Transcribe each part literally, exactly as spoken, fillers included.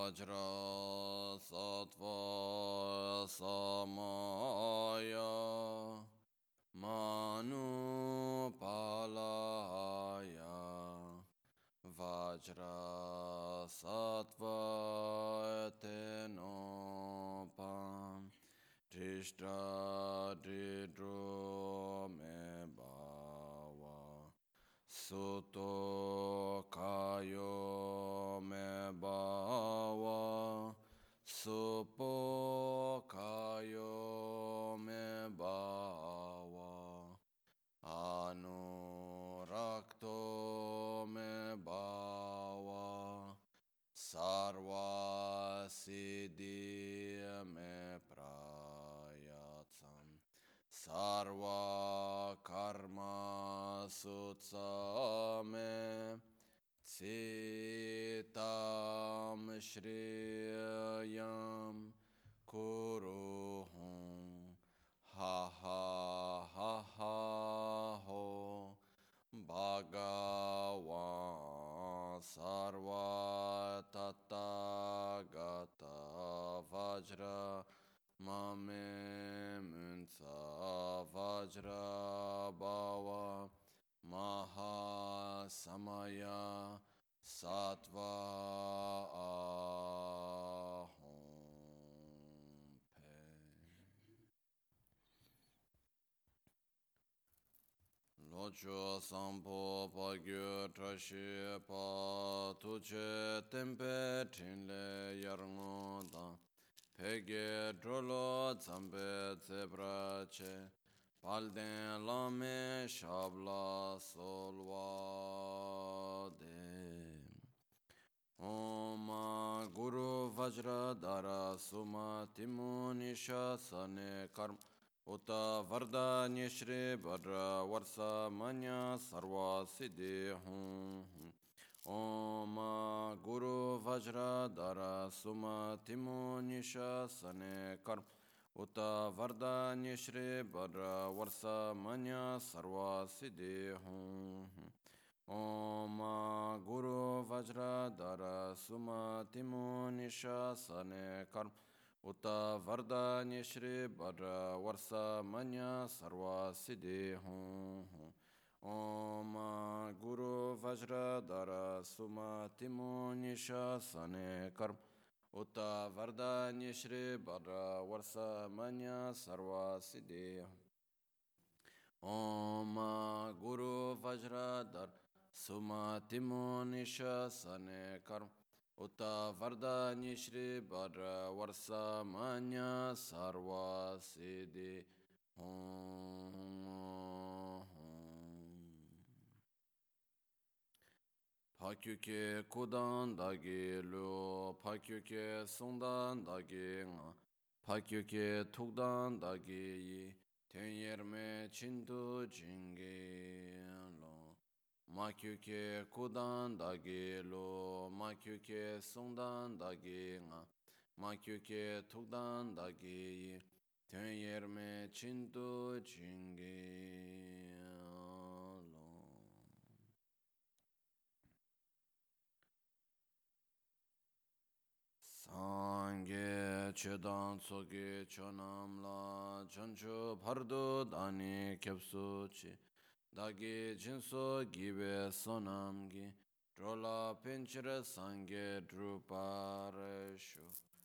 Vajra Sattva Samaya Manu Palaya Vajra Sattva Tenopam Drishta Dridro Me Bhava Suto Kayo Me Bhava Supo Kayo Me Bhava Anurakto Me Bhava Sarva Siddhi Me Prayatsam Sarva Karma Sutsame Citam Shriyam Kuruhum Ha ha ha ha ho Bhagavan Sarva Tathagata Vajra Mame Munsa Vajra Bhava Maha Samaya Sattva Ahom Pe. Locho Sampo Pagyo Trashi Pa Tuche Tempe Trinle Yarngoda Pege Drolo Zambe Zebrache Palden Lame Shabla Solvade Om Guru Vajra Dara Suma Timunisha Sane Karma Uta Varda Nishri Badra Varsa Manya Sarva Siddhi Hum Om Guru Vajra Dara Suma Timunisha Sane Karma Uta Varda Nishri Badra Varsa Manya Sarva Siddhi Hum Om Guru Vajra Dara Suma Timunisha Sane Karma Uta Varda Nishri Badra Varsa Manya Sarva Siddhi Hum Om Guru Vajra Dara Suma Timunisha Sane Karma Uta Varda Nishri Badra Varsa Manya Sarva Siddhi Om Guru Vajra Dara Suma Timunisha Sane Karma Uta Varda Nishri Badra Varsa Manya Sarva Siddhi Hum Pakyuke Kudan Dagi Lu Pakyuke Sundan Dagi Nga Pakyuke Tukdan Dagi Yi Tenyerme Chintu Jingi Lo Makyuke Kudan Dagi Lu Makyuke Sundan Dagi Nga Makyuke Tukdan Dagi Yi Tenyerme Chintu Jingi Sangye chedan soge chonam la chancho bhardo dani kyapsu chi dagi jinso gibe sonam gi drola pinchira sangye drupareshu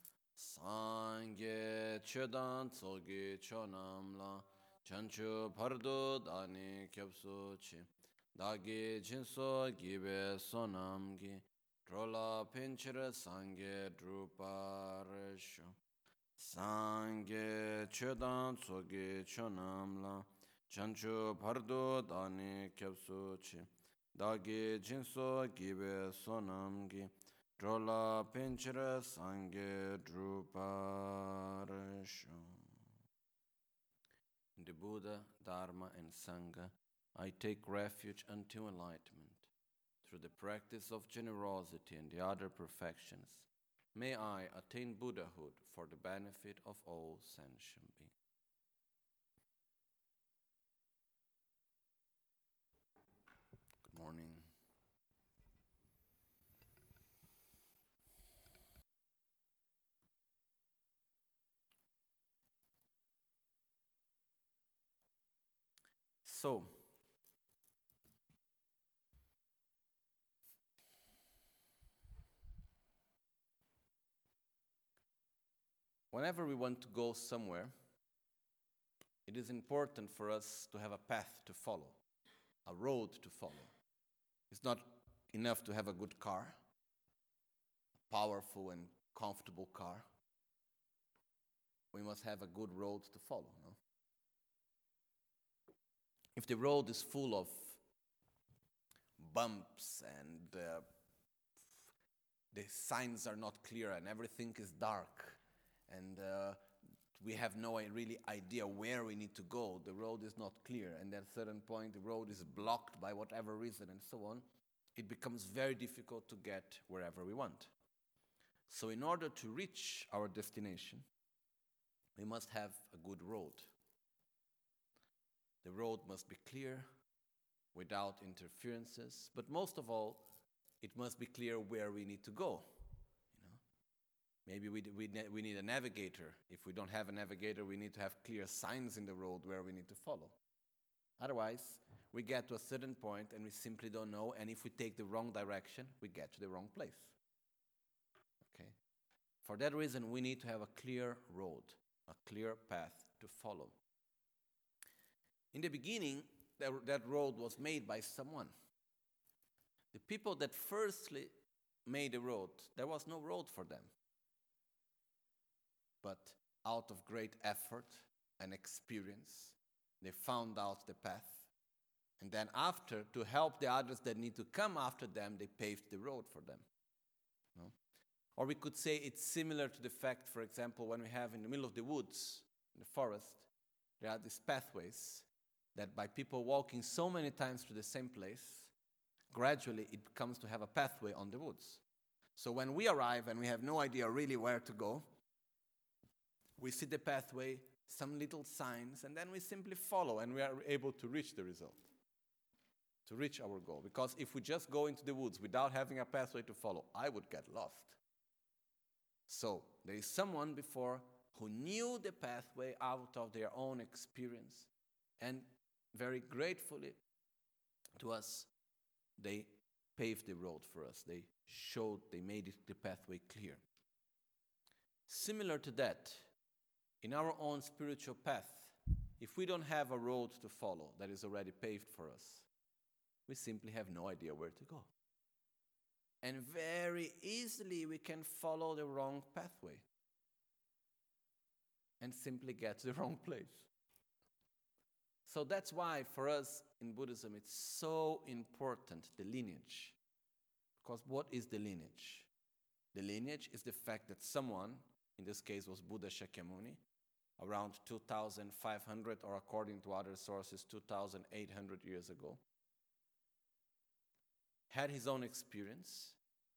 Sangye chedan soge chonam la chancho bhardo dani kyapsu chi dagi jinso gibe sonam gi Drola pinchira sangye druparesho Sangye chedan tsoge chonamla Chancho pardo dani kyapsu chi Dagi jinso gibe sonamgi Drola pinchira sangye druparesho In the Buddha, Dharma and Sangha, I take refuge unto enlightenment. Through the practice of generosity and the other perfections, may I attain Buddhahood for the benefit of all sentient beings. Good morning. So, whenever we want to go somewhere, it is important for us to have a path to follow, a road to follow. It's not enough to have a good car, a powerful and comfortable car. We must have a good road to follow. No? If the road is full of bumps and uh, the signs are not clear and everything is dark and uh, we have no really idea where we need to go, the road is not clear, and at a certain point the road is blocked by whatever reason and so on, it becomes very difficult to get wherever we want. So in order to reach our destination, we must have a good road. The road must be clear, without interferences, but most of all, it must be clear where we need to go. You know? Maybe we, we, we need a navigator. If we don't have a navigator, we need to have clear signs in the road where we need to follow. Otherwise, we get to a certain point and we simply don't know, and if we take the wrong direction, we get to the wrong place. Okay? For that reason, we need to have a clear road, a clear path to follow. In the beginning, that, that road was made by someone. The people that firstly made the road, there was no road for them. But out of great effort and experience, they found out the path. And then after, to help the others that need to come after them, they paved the road for them. No? Or we could say it's similar to the fact, for example, when we have in the middle of the woods, in the forest, there are these pathways that by people walking so many times to the same place, gradually it comes to have a pathway on the woods. So when we arrive and we have no idea really where to go, we see the pathway, some little signs, and then we simply follow and we are able to reach the result, to reach our goal. Because if we just go into the woods without having a pathway to follow, I would get lost. So there is someone before who knew the pathway out of their own experience, and very gratefully to us, they paved the road for us. They showed, they made it, the pathway clear. Similar to that, in our own spiritual path, if we don't have a road to follow that is already paved for us, we simply have no idea where to go. And very easily we can follow the wrong pathway and simply get to the wrong place. So that's why for us in Buddhism it's so important, the lineage. Because what is the lineage? The lineage is the fact that someone, in this case was Buddha Shakyamuni, around two thousand five hundred, or according to other sources, two thousand eight hundred years ago, had his own experience.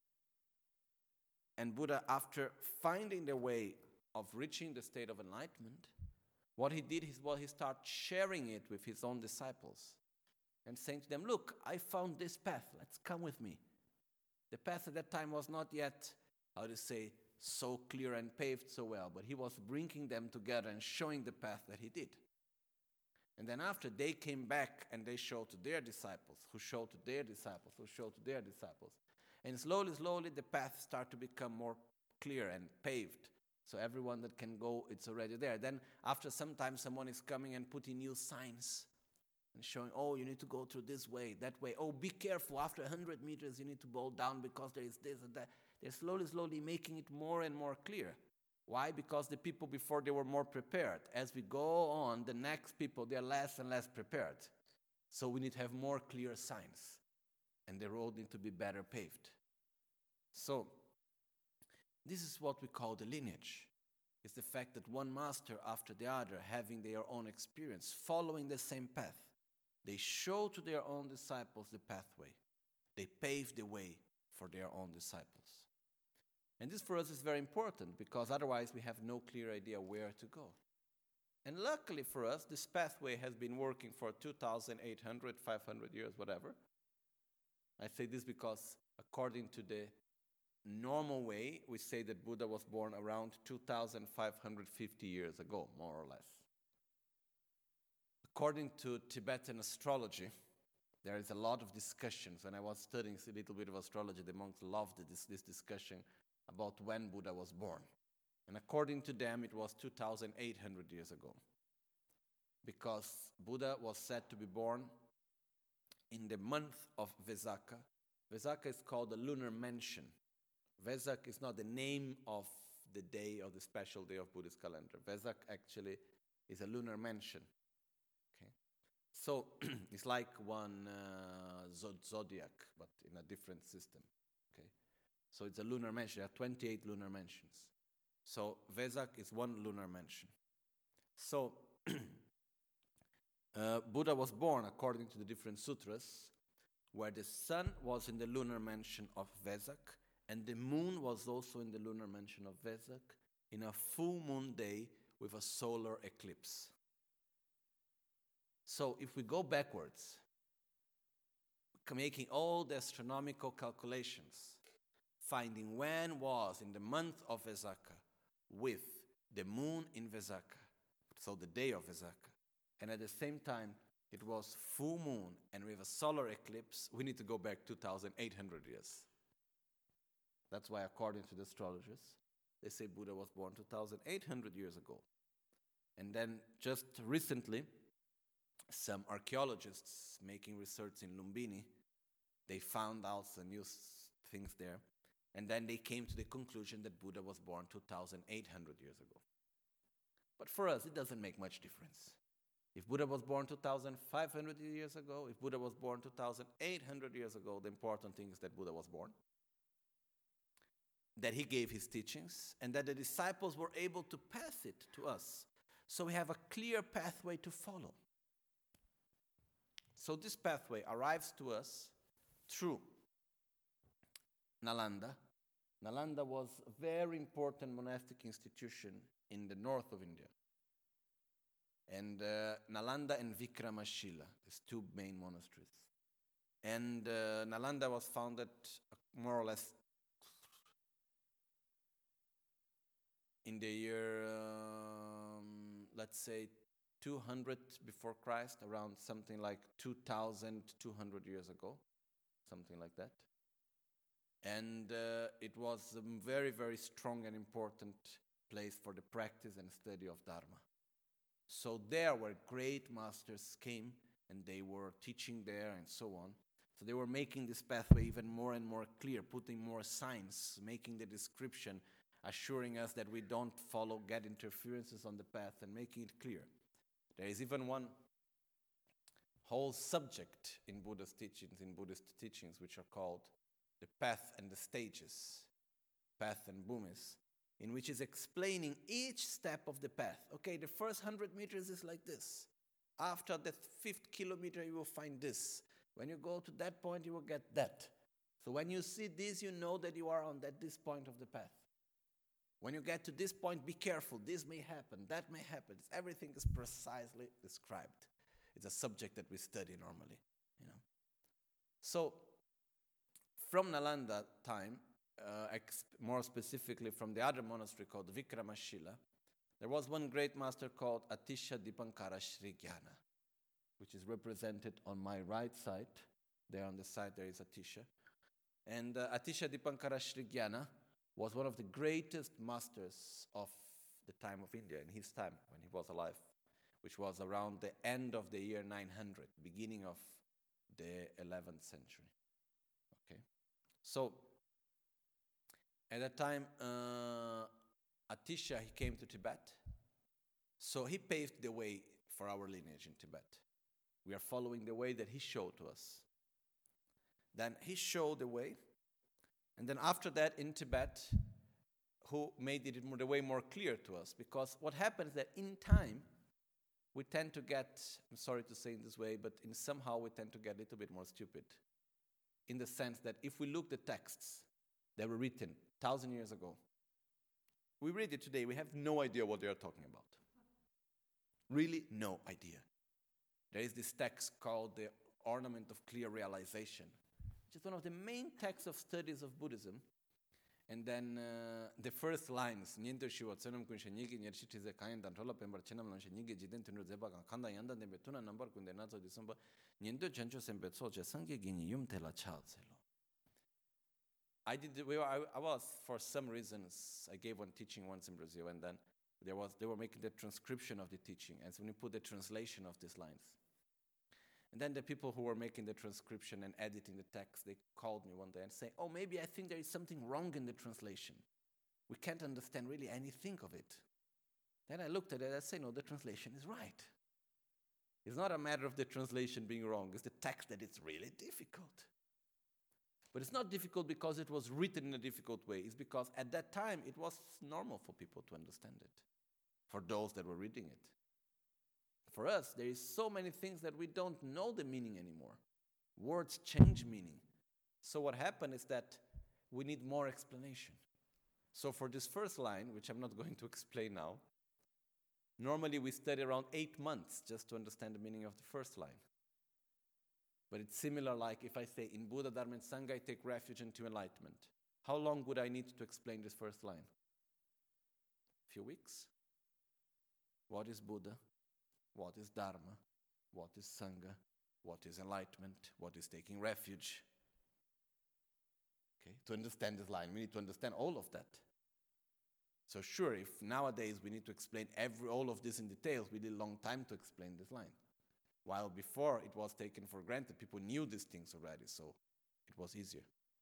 And Buddha, after finding the way of reaching the state of enlightenment, what he did is, well, he started sharing it with his own disciples and saying to them, look, I found this path, let's come with me. The path at that time was not yet, how to say, so clear and paved so well, but he was bringing them together and showing the path that he did. And then after, they came back and they showed to their disciples, who showed to their disciples, who showed to their disciples. And slowly, slowly, the path started to become more clear and paved. So everyone that can go, it's already there. Then after some time, someone is coming and putting new signs and showing, oh, you need to go through this way, that way. Oh, be careful. After one hundred meters, you need to bow down because there is this and that. They're slowly, slowly making it more and more clear. Why? Because the people before, they were more prepared. As we go on, the next people, they're less and less prepared. So we need to have more clear signs. And the road needs to be better paved. So this is what we call the lineage. It's the fact that one master after the other, having their own experience, following the same path, they show to their own disciples the pathway. They pave the way for their own disciples. And this for us is very important, because otherwise we have no clear idea where to go. And luckily for us, this pathway has been working for two thousand eight hundred, five hundred years, whatever. I say this because according to the normal way, we say that Buddha was born around two thousand five hundred fifty years ago, more or less. according to Tibetan astrology, there is a lot of discussions. When I was studying a little bit of astrology, the monks loved this, this discussion about when Buddha was born. And according to them, it was two thousand eight hundred years ago. Because Buddha was said to be born in the month of Vesakha. Vesakha is called the lunar mansion. Vesak is not the name of the day or the special day of Buddhist calendar. Vesak actually is a lunar mansion. Okay, so it's like one uh, zod- zodiac, but in a different system. Okay, so it's a lunar mansion. There are twenty-eight lunar mansions. So Vesak is one lunar mansion. So uh, Buddha was born according to the different sutras, where the sun was in the lunar mansion of Vesak, and the moon was also in the lunar mansion of Vesak, in a full moon day with a solar eclipse. So if we go backwards, making all the astronomical calculations, finding when was in the month of Vesakha with the moon in Vesakha, so the day of Vesakha, and at the same time it was full moon and with a solar eclipse, we need to go back two thousand eight hundred years. That's why, according to the astrologers, they say Buddha was born two thousand eight hundred years ago. And then just recently, some archaeologists making research in Lumbini, they found out some new things there. And then they came to the conclusion that Buddha was born two thousand eight hundred years ago. But for us, it doesn't make much difference. If Buddha was born two thousand five hundred years ago, if Buddha was born two thousand eight hundred years ago, the important thing is that Buddha was born, that he gave his teachings, and that the disciples were able to pass it to us. So we have a clear pathway to follow. So this pathway arrives to us through Nalanda. Nalanda was a very important monastic institution in the north of India. And uh, Nalanda and Vikramashila, these two main monasteries. And uh, Nalanda was founded more or less in the year, um, let's say, two hundred before Christ, around something like two thousand two hundred years ago, something like that. And uh, it was a very, very strong and important place for the practice and study of Dharma. So there where great masters came and they were teaching there and so on. So they were making this pathway even more and more clear, putting more signs, making the description, assuring us that we don't follow, get interferences on the path, and making it clear. There is even one whole subject in Buddha's teachings, in Buddhist teachings, which are called the path and the stages, path and bhumis, in which is explaining each step of the path. Okay, the first hundred meters is like this. After the fifth kilometer, you will find this. When you go to that point, you will get that. So when you see this, you know that you are on that this point of the path. When you get to this point, be careful. This may happen, that may happen. Everything is precisely described. It's a subject that we study normally, you know. So, from Nalanda time, uh, ex- more specifically from the other monastery called Vikramashila, there was one great master called Atisha Dipankara Srigyana, which is represented on my right side. There on the side there is Atisha. And uh, Atisha Dipankara Srigyana was one of the greatest masters of the time of India, in his time, when he was alive, which was around the end of the year nine hundred, beginning of the eleventh century. Okay, so at that time, uh, Atisha, he came to Tibet, so he paved the way for our lineage in Tibet. We are following the way that he showed to us. Then he showed the way, and then after that in Tibet, who made it more, the way more clear to us, because what happens is that in time, we tend to get, I'm sorry to say in this way, but in somehow we tend to get a little bit more stupid, in the sense that if we look the texts that were written a thousand years ago, we read it today, we have no idea what they are talking about. Really no idea. There is this text called the Ornament of Clear Realization, which is one of the main texts of studies of Buddhism. And then uh, the first lines, niente shi watsanam kun shenyigi nyershi tize kain dan thola pembar chenam lan shenyigi jiden tunur zeba kan khanda yanda dembe tuna number kun de nazo disamba niente chencho sembe tsoche sangi gini yum tela chao zelo. I did. We were, I, I was, for some reasons, I gave one teaching once in Brazil, and then there was they were making the transcription of the teaching, and so we put the translation of these lines. And then the people who were making the transcription and editing the text, they called me one day and say, "Oh, maybe I think there is something wrong in the translation. We can't understand really anything of it." Then I looked at it and I said, "No, the translation is right. It's not a matter of the translation being wrong. It's the text that it's really difficult." But it's not difficult because it was written in a difficult way. It's because at that time it was normal for people to understand it, for those that were reading it. For us, there is so many things that we don't know the meaning anymore. Words change meaning. So what happened is that we need more explanation. So for this first line, which I'm not going to explain now, normally we study around eight months just to understand the meaning of the first line. But it's similar like if I say, in Buddha, Dharma, and Sangha, I take refuge into enlightenment. How long would I need to explain this first line? A few weeks? What is Buddha? What is Dharma? What is Sangha? What is enlightenment? What is taking refuge? Okay, to understand this line, we need to understand all of that. So sure, if nowadays we need to explain every all of this in details, we need a long time to explain this line. While before it was taken for granted, people knew these things already, so it was easier.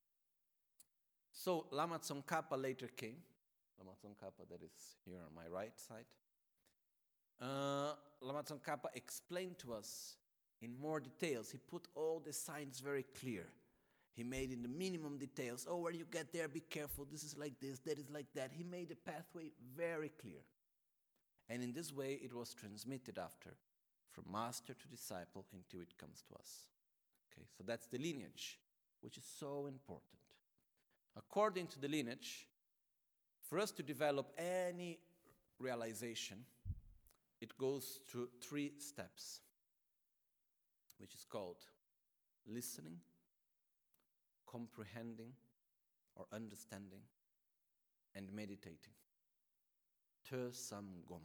So Lama Tsongkhapa later came. Lama Tsongkhapa, that is here on my right side. Uh, Lama Tsongkhapa explained to us in more details. He put all the signs very clear. He made in the minimum details. Oh, when you get there, be careful. This is like this, that is like that. He made the pathway very clear. And in this way, it was transmitted after, from master to disciple until it comes to us. Okay, so that's the lineage, which is so important. According to the lineage, for us to develop any realization, it goes through three steps, which is called listening, comprehending or understanding, and meditating. Te sam gom.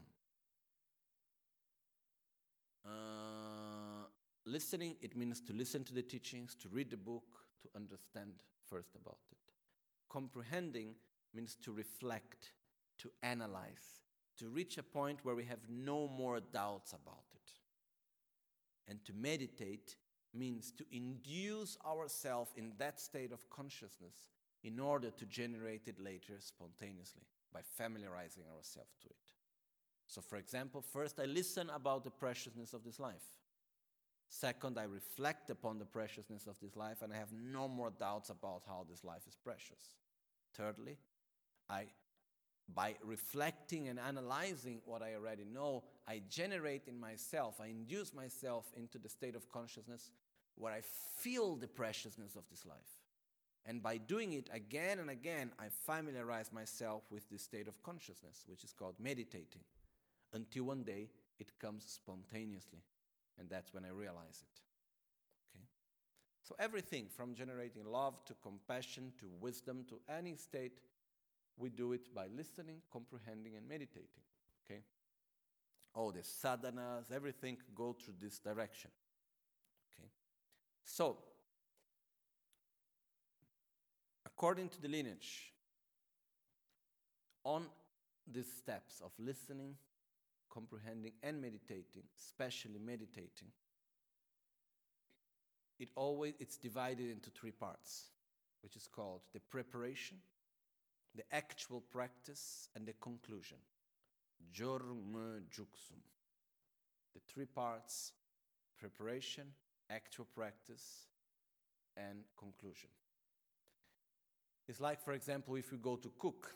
Uh, listening, it means to listen to the teachings, to read the book, to understand first about it. Comprehending means to reflect, to analyze, to reach a point where we have no more doubts about it. And to meditate means to induce ourselves in that state of consciousness in order to generate it later spontaneously by familiarizing ourselves to it. So for example, first I listen about the preciousness of this life. Second, I reflect upon the preciousness of this life and I have no more doubts about how this life is precious. Thirdly, I, by reflecting and analyzing what I already know, I generate in myself, I induce myself into the state of consciousness where I feel the preciousness of this life. And by doing it again and again, I familiarize myself with this state of consciousness, which is called meditating, until one day it comes spontaneously. And that's when I realize it. Okay? So everything from generating love to compassion to wisdom to any state, we do it by listening, comprehending, and meditating. Okay? All the sadhanas, everything go through this direction. Okay? So, according to the lineage, on these steps of listening, comprehending, and meditating, especially meditating, it always it's divided into three parts, which is called the preparation, the actual practice, and the conclusion. Jorme Juksum. The three parts: preparation, actual practice, and conclusion. It's like, for example, if you go to cook,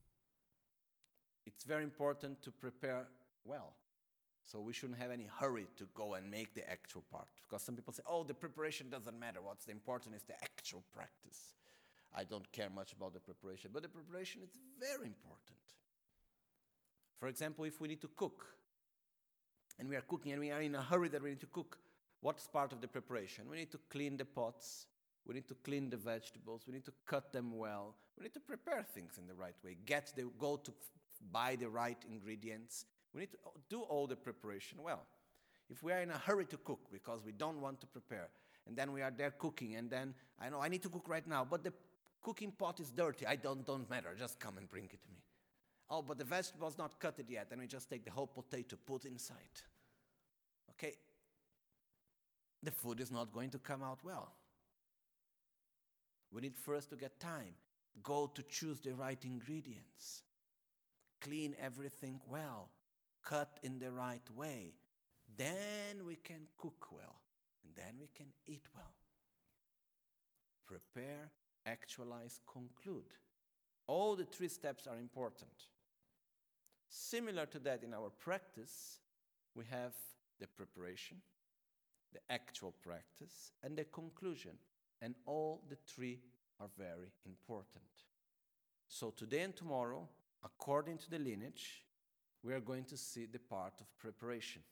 it's very important to prepare well. So we shouldn't have any hurry to go and make the actual part. Because some people say, oh, the preparation doesn't matter. What's important is the actual practice. I don't care much about the preparation. But the preparation is very important. For example, if we need to cook, and we are cooking and we are in a hurry that we need to cook, what's part of the preparation? We need to clean the pots. We need to clean the vegetables. We need to cut them well. We need to prepare things in the right way. Get the, go to f- buy the right ingredients. We need to do all the preparation well. If we are in a hurry to cook because we don't want to prepare, and then we are there cooking, and then I know I need to cook right now, but the cooking pot is dirty. I don't don't matter. Just come and bring it to me. Oh, but the vegetable's not cut it yet. Then we just take the whole potato, put inside. Okay. The food is not going to come out well. We need first to get time. Go to choose the right ingredients. Clean everything well. Cut in the right way. Then we can cook well. And then we can eat well. Prepare, actualize, conclude. All the three steps are important. Similar to that in our practice, we have the preparation, the actual practice, and the conclusion. And all the three are very important. So today and tomorrow, according to the lineage, we are going to see the part of preparation,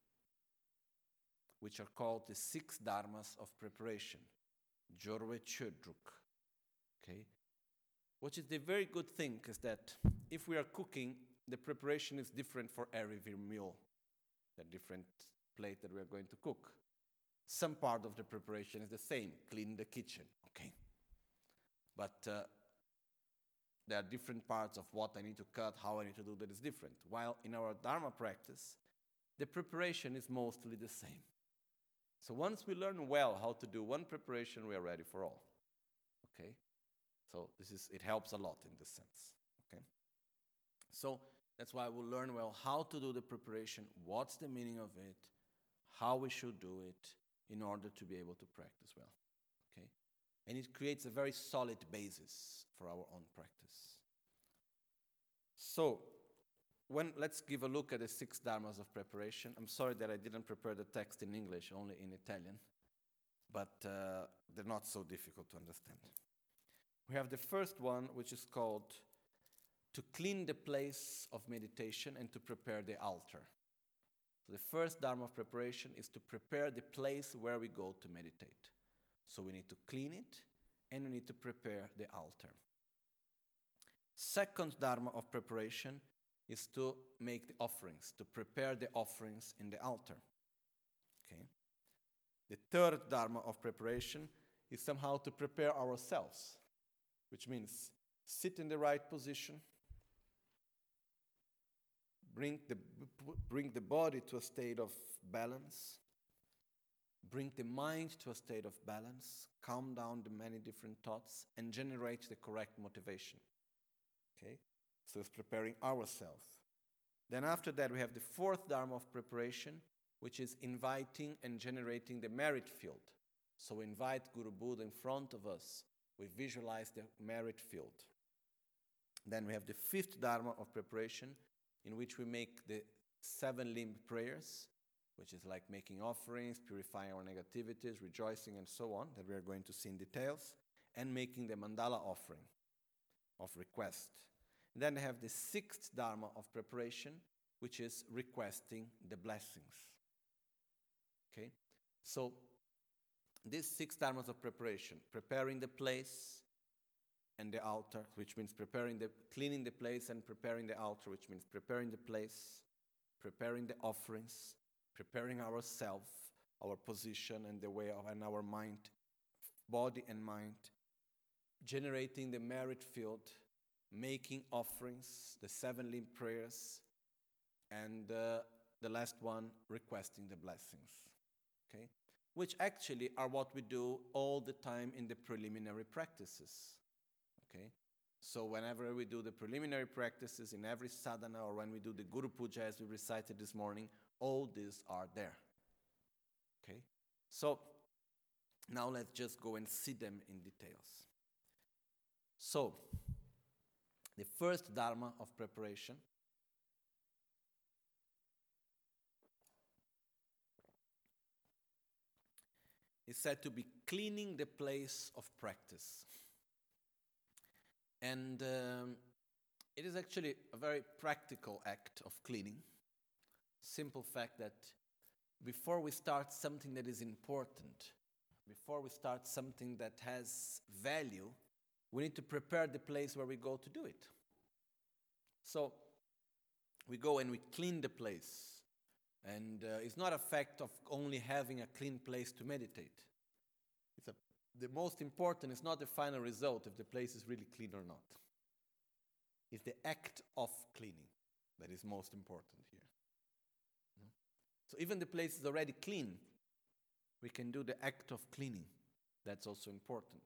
which are called the six dharmas of preparation, Jorwe Chodruk. Okay? Which is the very good thing is that if we are cooking, the preparation is different for every meal, the different plate that we are going to cook. Some part of the preparation is the same, clean the kitchen, okay? But uh, there are different parts of what I need to cut, how I need to do that is different. While in our Dharma practice, the preparation is mostly the same. So once we learn well how to do one preparation, we are ready for all, okay? So this is, it helps a lot in this sense, okay? So that's why we'll learn well how to do the preparation, what's the meaning of it, how we should do it, in order to be able to practice well, okay? And it creates a very solid basis for our own practice. So, when let's give a look at the six dharmas of preparation. I'm sorry that I didn't prepare the text in English, only in Italian, but uh, they're not so difficult to understand. We have the first one, which is called to clean the place of meditation and to prepare the altar. So the first dharma of preparation is to prepare the place where we go to meditate. So we need to clean it and we need to prepare the altar. Second dharma of preparation is to make the offerings, to prepare the offerings in the altar. Okay. The third dharma of preparation is somehow to prepare ourselves, which means sit in the right position, Bring the, bring the body to a state of balance. Bring the mind to a state of balance. Calm down the many different thoughts and generate the correct motivation. Okay? So it's preparing ourselves. Then after that we have the fourth dharma of preparation, which is inviting and generating the merit field. So we invite Guru Buddha in front of us. We visualize the merit field. Then we have the fifth dharma of preparation, in which we make the seven-limbed prayers, which is like making offerings, purifying our negativities, rejoicing, and so on, that we are going to see in details, and making the mandala offering of request. And then they have the sixth dharma of preparation, which is requesting the blessings. Okay? So, these six dharmas of preparation, preparing the place, and the altar, which means preparing the, cleaning the place and preparing the altar, which means preparing the place, preparing the offerings, preparing ourselves, our position and the way of, and our mind, body and mind, generating the merit field, making offerings, the seven-limb prayers, and uh, the last one, requesting the blessings, okay? Which actually are what we do all the time in the preliminary practices. Okay, so whenever we do the preliminary practices in every sadhana or when we do the Guru Puja as we recited this morning, all these are there. Okay, so now let's just go and see them in details. So, the first dharma of preparation is said to be cleaning the place of practice. And um, it is actually a very practical act of cleaning. Simple fact that before we start something that is important, before we start something that has value, we need to prepare the place where we go to do it. So we go and we clean the place. And uh, it's not a fact of only having a clean place to meditate. It's a, the most important is not the final result, if the place is really clean or not. It's the act of cleaning that is most important here. So even the place is already clean, we can do the act of cleaning. That's also important.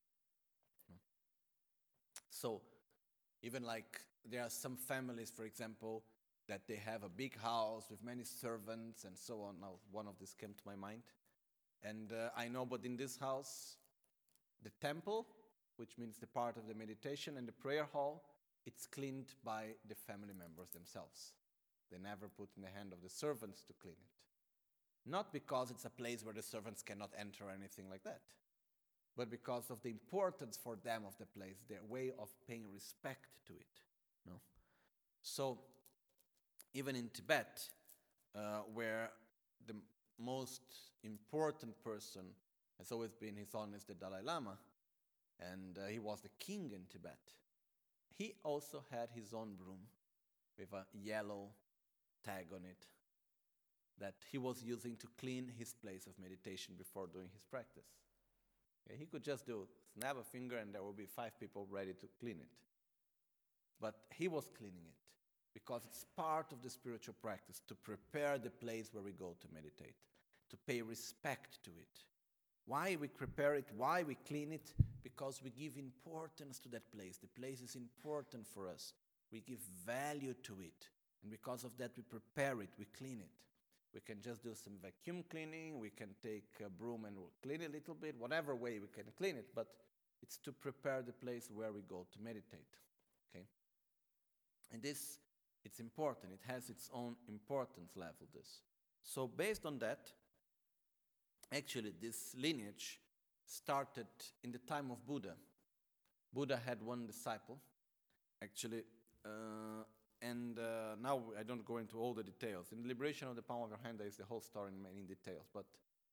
So even like there are some families, for example, that they have a big house with many servants and so on. Now, one of these came to my mind. And uh, I know, but in this house, the temple, which means the part of the meditation, and the prayer hall, it's cleaned by the family members themselves. They never put in the hand of the servants to clean it. Not because it's a place where the servants cannot enter or anything like that, but because of the importance for them of the place, their way of paying respect to it. No? So, even in Tibet, uh, where the most important person has always been His Holiness the Dalai Lama, and uh, he was the king in Tibet, he also had his own broom with a yellow tag on it that he was using to clean his place of meditation before doing his practice. Okay, he could just do, snap a finger and there will be five people ready to clean it. But he was cleaning it, because it's part of the spiritual practice to prepare the place where we go to meditate, to pay respect to it. Why we prepare it, why we clean it? Because we give importance to that place. The place is important for us. We give value to it. And because of that, we prepare it, we clean it. We can just do some vacuum cleaning, we can take a broom and we'll clean it a little bit, whatever way we can clean it, but it's to prepare the place where we go to meditate. Okay? And this, it's important. It has its own importance level, this. So based on that, actually this lineage started in the time of Buddha. Buddha had one disciple, actually, uh, and uh, now I don't go into all the details. In the Liberation of the Palm of Your Hand, there is the whole story in many details, but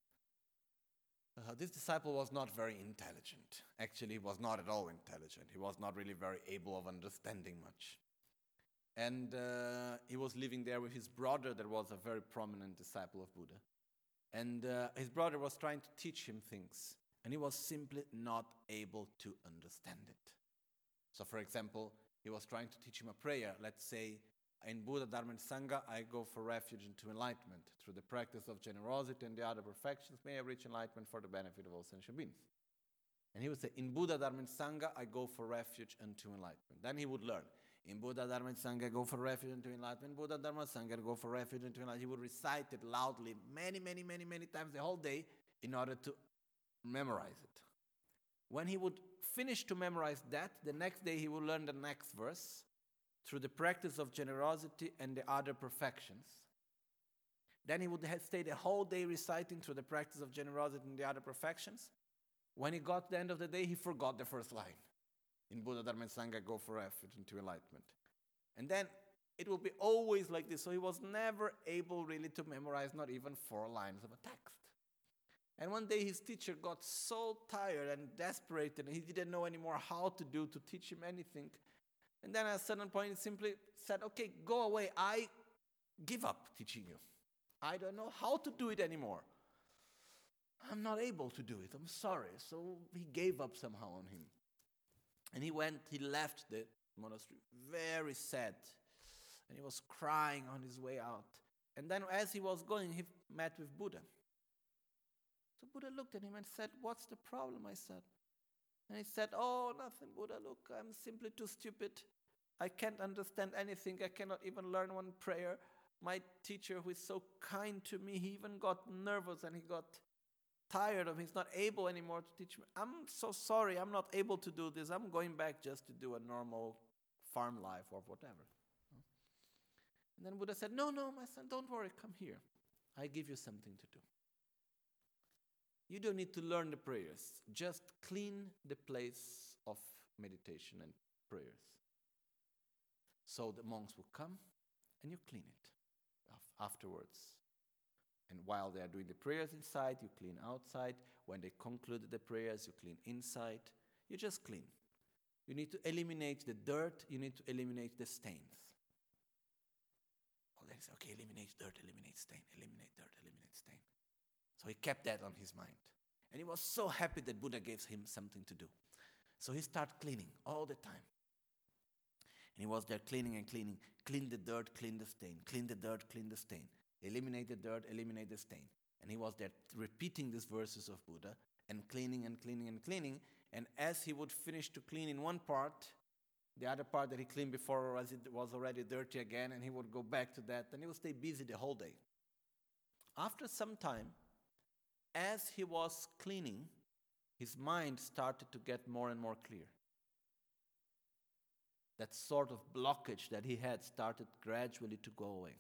uh, this disciple was not very intelligent. Actually, he was not at all intelligent. He was not really very able of understanding much. And uh, he was living there with his brother that was a very prominent disciple of Buddha. And uh, his brother was trying to teach him things, and he was simply not able to understand it. So, for example, he was trying to teach him a prayer. Let's say, in Buddha, Dharma, and Sangha, I go for refuge into enlightenment. Through the practice of generosity and the other perfections, may I reach enlightenment for the benefit of all sentient beings. And he would say, in Buddha, Dharma, and Sangha, I go for refuge unto enlightenment. Then he would learn. In Buddha, Dharma, and Sangha, I go for refuge into enlightenment. Buddha, Dharma, Sangha, I go for refuge into enlightenment. He would recite it loudly many, many, many, many times the whole day in order to memorize it. When he would finish to memorize that, the next day he would learn the next verse through the practice of generosity and the other perfections. Then he would have stay the whole day reciting through the practice of generosity and the other perfections. When he got to the end of the day, he forgot the first line. In Buddha, Dharma, and Sangha, go for refuge into enlightenment. And then it will be always like this. So he was never able really to memorize not even four lines of a text. And one day his teacher got so tired and desperate, and he didn't know anymore how to do to teach him anything. And then at a certain point he simply said, okay, go away. I give up teaching you. I don't know how to do it anymore. I'm not able to do it. I'm sorry. So he gave up somehow on him. And he went, he left the monastery very sad. And he was crying on his way out. And then as he was going, he met with Buddha. So Buddha looked at him and said, what's the problem? I said. And he said, oh, nothing, Buddha. Look, I'm simply too stupid. I can't understand anything. I cannot even learn one prayer. My teacher, who is so kind to me, he even got nervous and he got tired of, he's not able anymore to teach me. I'm so sorry, I'm not able to do this. I'm going back just to do a normal farm life or whatever. And then Buddha said, no, no, my son, don't worry, come here. I give you something to do. You don't need to learn the prayers. Just clean the place of meditation and prayers. So the monks will come and you clean it afterwards. And while they are doing the prayers inside, you clean outside. When they conclude the prayers, you clean inside. You just clean. You need to eliminate the dirt. You need to eliminate the stains. Oh, they say, okay, eliminate dirt, eliminate stain, eliminate dirt, eliminate stain. So he kept that on his mind. And he was so happy that Buddha gave him something to do. So he started cleaning all the time. And he was there cleaning and cleaning. Clean the dirt, clean the stain. Clean the dirt, clean the stain. Eliminate the dirt, eliminate the stain. And he was there repeating these verses of Buddha and cleaning and cleaning and cleaning. And as he would finish to clean in one part, the other part that he cleaned before was, it was already dirty again, and he would go back to that, and he would stay busy the whole day. After some time, as he was cleaning, his mind started to get more and more clear. That sort of blockage that he had started gradually to go away.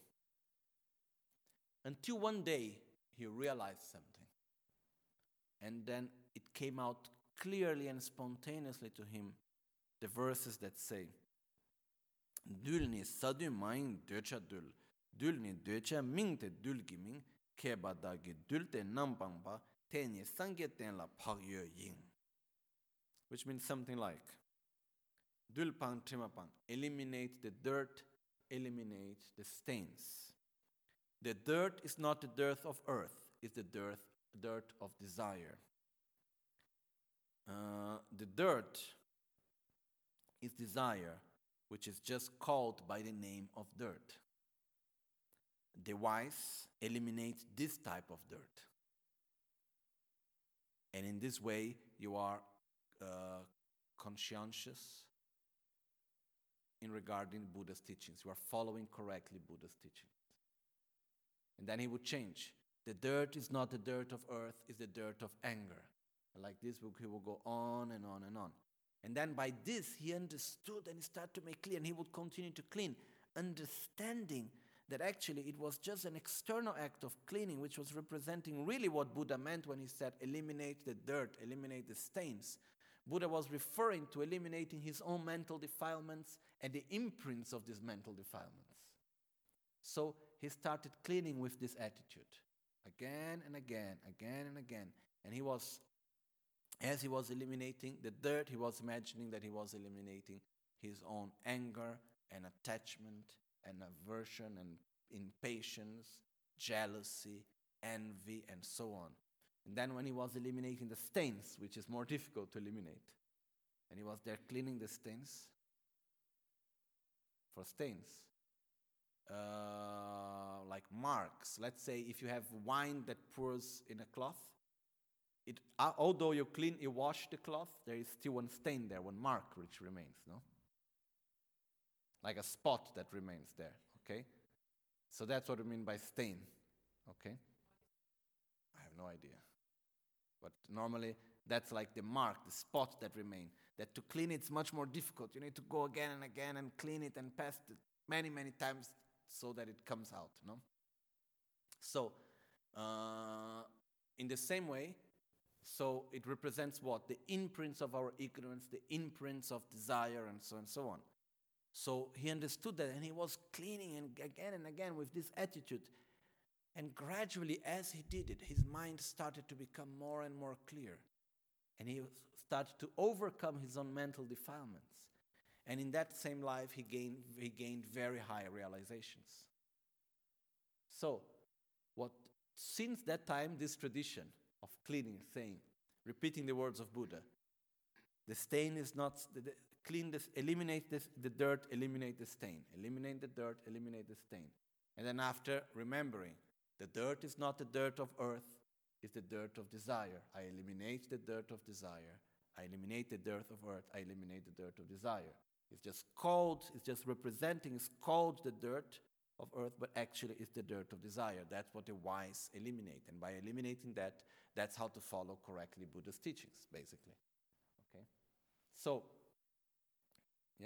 Until one day, he realized something. And then it came out clearly and spontaneously to him, the verses that say, Dulni sadu maing döcha dul, dulni döcha mingte dulgiming, kebadagi dulte nambangba, tenye sangeten la pagyo ying. Which means something like, Dulpang trimapang, eliminate the dirt, eliminate the stains. The dirt is not the dirt of earth, it's the dirt, dirt of desire. Uh, the dirt is desire, which is just called by the name of dirt. The wise eliminate this type of dirt. And in this way, you are uh, conscientious in regarding Buddha's teachings. You are following correctly Buddha's teachings. And then he would change. The dirt is not the dirt of earth, it's the dirt of anger. And like this, he will go on and on and on. And then by this, he understood and he started to make clear, and he would continue to clean, understanding that actually it was just an external act of cleaning, which was representing really what Buddha meant when he said, eliminate the dirt, eliminate the stains. Buddha was referring to eliminating his own mental defilements and the imprints of these mental defilements. So he started cleaning with this attitude, again and again, again and again. And he was, as he was eliminating the dirt, he was imagining that he was eliminating his own anger and attachment and aversion and impatience, jealousy, envy, and so on. And then when he was eliminating the stains, which is more difficult to eliminate, and he was there cleaning the stains, for stains, uh, like marks. Let's say if you have wine that pours in a cloth, it, uh, although you clean, you wash the cloth, there is still one stain there, one mark which remains, no? Like a spot that remains there, okay? So that's what we mean by stain, okay? I have no idea. But normally, that's like the mark, the spot that remain. That to clean it's much more difficult. You need to go again and again and clean it and pass it many, many times so that it comes out, no? So, uh, in the same way, so it represents what? The imprints of our ignorance, the imprints of desire, and so on and so on. So he understood that, and he was cleaning and again and again with this attitude. And gradually, as he did it, his mind started to become more and more clear. And he started to overcome his own mental defilements. And in that same life, he gained, he gained very high realizations. So, what since that time, this tradition of cleaning, saying, repeating the words of Buddha, the stain is not, the, the, clean this, eliminate this, the dirt, eliminate the stain. Eliminate the dirt, eliminate the stain. And then after, remembering, the dirt is not the dirt of earth, it's the dirt of desire. I eliminate the dirt of desire. I eliminate the dirt of earth. I eliminate the dirt of desire. It's just called, it's just representing, it's called the dirt of earth, but actually it's the dirt of desire. That's what the wise eliminate. And by eliminating that, that's how to follow correctly Buddha's teachings, basically. Okay? So, yeah?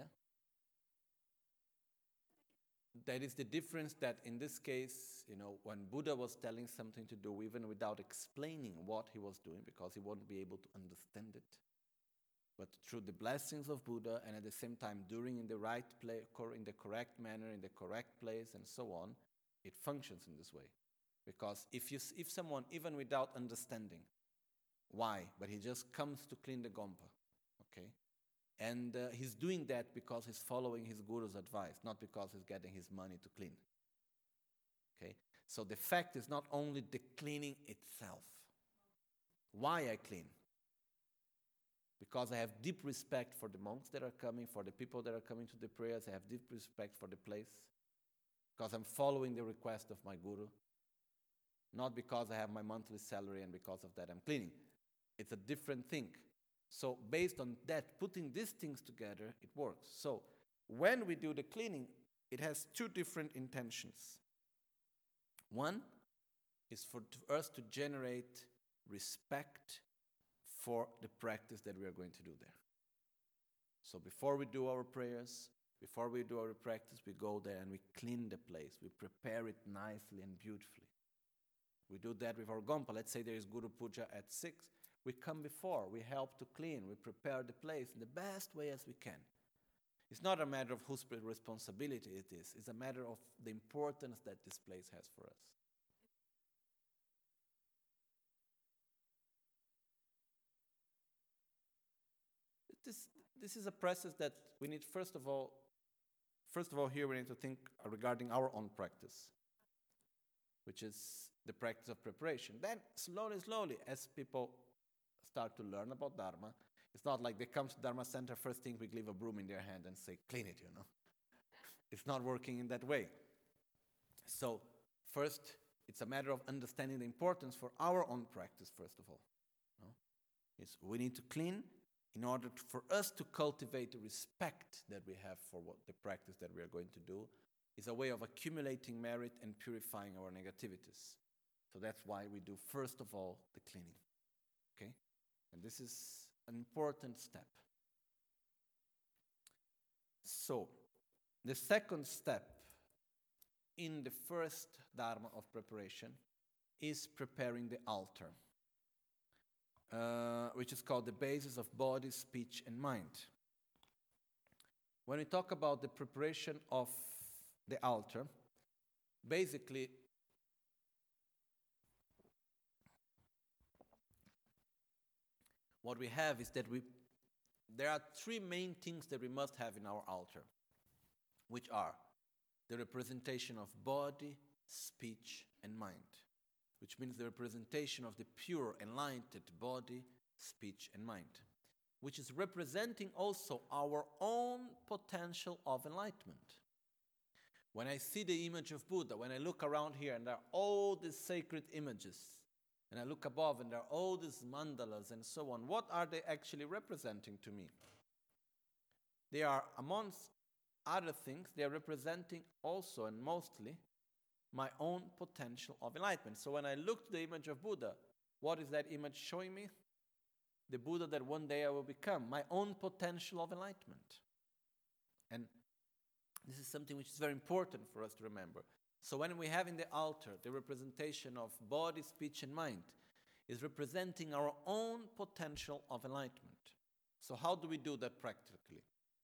That is the difference that in this case, you know, when Buddha was telling something to do, even without explaining what he was doing, because he wouldn't be able to understand it, but through the blessings of Buddha, and at the same time doing in the right place, in the correct manner, in the correct place, and so on, it functions in this way. Because if, you, if someone, even without understanding why, but he just comes to clean the gompa, okay? And uh, he's doing that because he's following his guru's advice, not because he's getting his money to clean. Okay? So the fact is not only the cleaning itself. Why I clean? Because I have deep respect for the monks that are coming, for the people that are coming to the prayers. I have deep respect for the place. Because I'm following the request of my guru. Not because I have my monthly salary and because of that I'm cleaning. It's a different thing. So based on that, putting these things together, it works. So when we do the cleaning, it has two different intentions. One is for us to generate respect for the practice that we are going to do there. So before we do our prayers, before we do our practice, we go there and we clean the place. We prepare it nicely and beautifully. We do that with our gompa. Let's say there is Guru Puja at six. We come before, we help to clean, we prepare the place in the best way as we can. It's not a matter of whose responsibility it is. It's a matter of the importance that this place has for us. This, this is a process that we need, first of all, first of all, here we need to think regarding our own practice, which is the practice of preparation. Then, slowly, slowly, as people start to learn about Dharma, it's not like they come to Dharma Center, first thing we leave a broom in their hand and say, clean it, you know. It's not working in that way. So, first, it's a matter of understanding the importance for our own practice, first of all. No? It's, we need to clean in order to, for us to cultivate the respect that we have for what the practice that we are going to do. Is a way of accumulating merit and purifying our negativities. So that's why we do, first of all, the cleaning. Okay? And this is an important step. So, the second step in the first Dharma of preparation is preparing the altar, uh, which is called the basis of body, speech, and mind. When we talk about the preparation of the altar, basically, what we have is that we, there are three main things that we must have in our altar, which are the representation of body, speech, and mind, which means the representation of the pure, enlightened body, speech, and mind, which is representing also our own potential of enlightenment. When I see the image of Buddha, when I look around here and there are all these sacred images, and I look above and there are all these mandalas and so on, what are they actually representing to me? They are, amongst other things, they are representing also and mostly my own potential of enlightenment. So when I look to the image of Buddha, what is that image showing me? The Buddha that one day I will become, my own potential of enlightenment. And this is something which is very important for us to remember. So when we have in the altar the representation of body, speech, and mind, is representing our own potential of enlightenment. So how do we do that practically?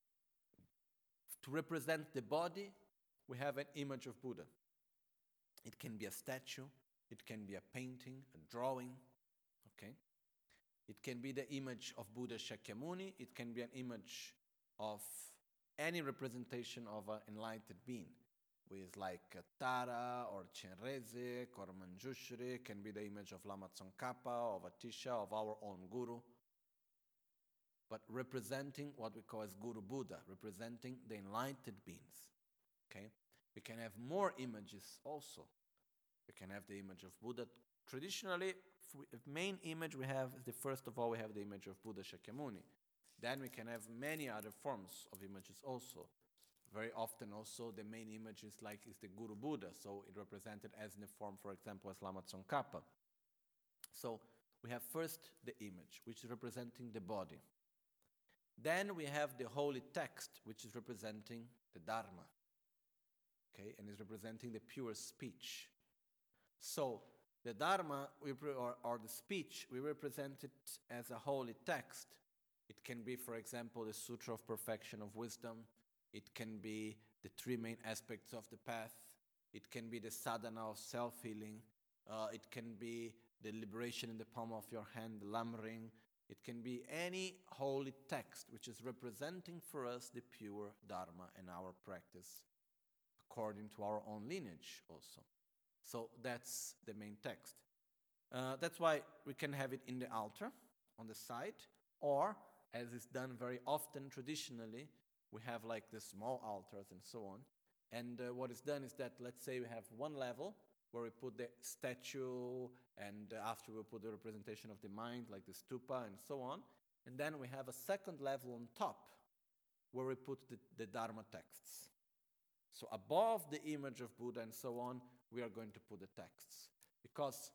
To represent the body, we have an image of Buddha. It can be a statue, it can be a painting, a drawing, okay? It can be the image of Buddha Shakyamuni, it can be an image of any representation of an enlightened being, with like Tara or Chenrezig or Manjushri, can be the image of Lama Tsongkhapa, of Atisha, of our own Guru, but representing what we call as Guru Buddha, representing the enlightened beings, okay? We can have more images also. We can have the image of Buddha. Traditionally, the main image we have is the first of all, we have the image of Buddha Shakyamuni. Then we can have many other forms of images also. Very often also the main image is like is the Guru Buddha, so it represented as in the form, for example, as Lama Tsongkhapa. So we have first the image, which is representing the body. Then we have the holy text, which is representing the Dharma, okay, and is representing the pure speech. So the Dharma, we pre- or, or the speech, we represent it as a holy text. It can be, for example, the Sutra of Perfection of Wisdom. It can be the three main aspects of the path. It can be the sadhana of self-healing. Uh, it can be the liberation in the palm of your hand, the Lam-ring. It can be any holy text which is representing for us the pure Dharma and our practice according to our own lineage also. So that's the main text. Uh, that's why we can have it in the altar on the side, or as is done very often traditionally, we have like the small altars and so on. And uh, what is done is that, let's say we have one level where we put the statue, and uh, after we put the representation of the mind, like the stupa and so on. And then we have a second level on top where we put the, the Dharma texts. So above the image of Buddha and so on, we are going to put the texts. Because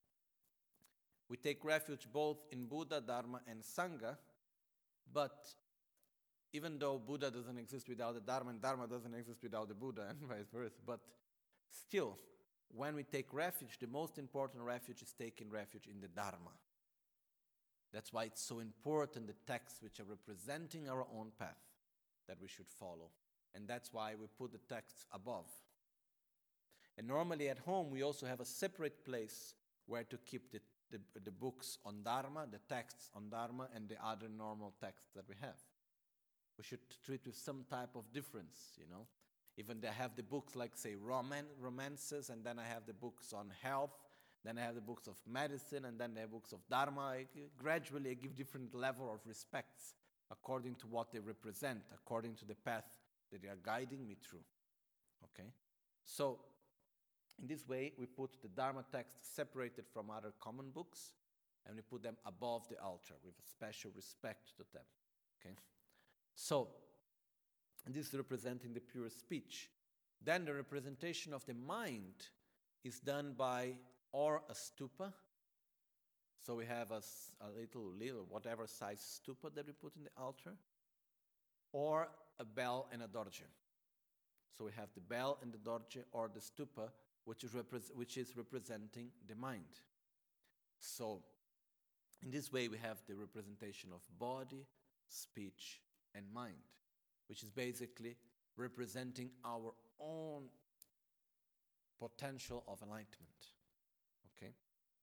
we take refuge both in Buddha, Dharma, and Sangha, but even though Buddha doesn't exist without the Dharma, and Dharma doesn't exist without the Buddha, and vice versa, but still, when we take refuge, the most important refuge is taking refuge in the Dharma. That's why it's so important, the texts which are representing our own path that we should follow. And that's why we put the texts above. And normally at home, we also have a separate place where to keep the, the, the books on Dharma, the texts on Dharma, and the other normal texts that we have. We should treat with some type of difference, you know. Even they have the books like, say, roman- romances, and then I have the books on health, then I have the books of medicine, and then the books of Dharma. I, gradually, I give different level of respects according to what they represent, according to the path that they are guiding me through. Okay? So, in this way, we put the Dharma text separated from other common books, and we put them above the altar with a special respect to them. Okay? So, this is representing the pure speech. Then the representation of the mind is done by or a stupa. So we have a, a little, little, whatever size stupa that we put in the altar, or a bell and a dorje. So we have the bell and the dorje, or the stupa, which is, repre- which is representing the mind. So in this way we have the representation of body, speech, and mind, which is basically representing our own potential of enlightenment. Okay?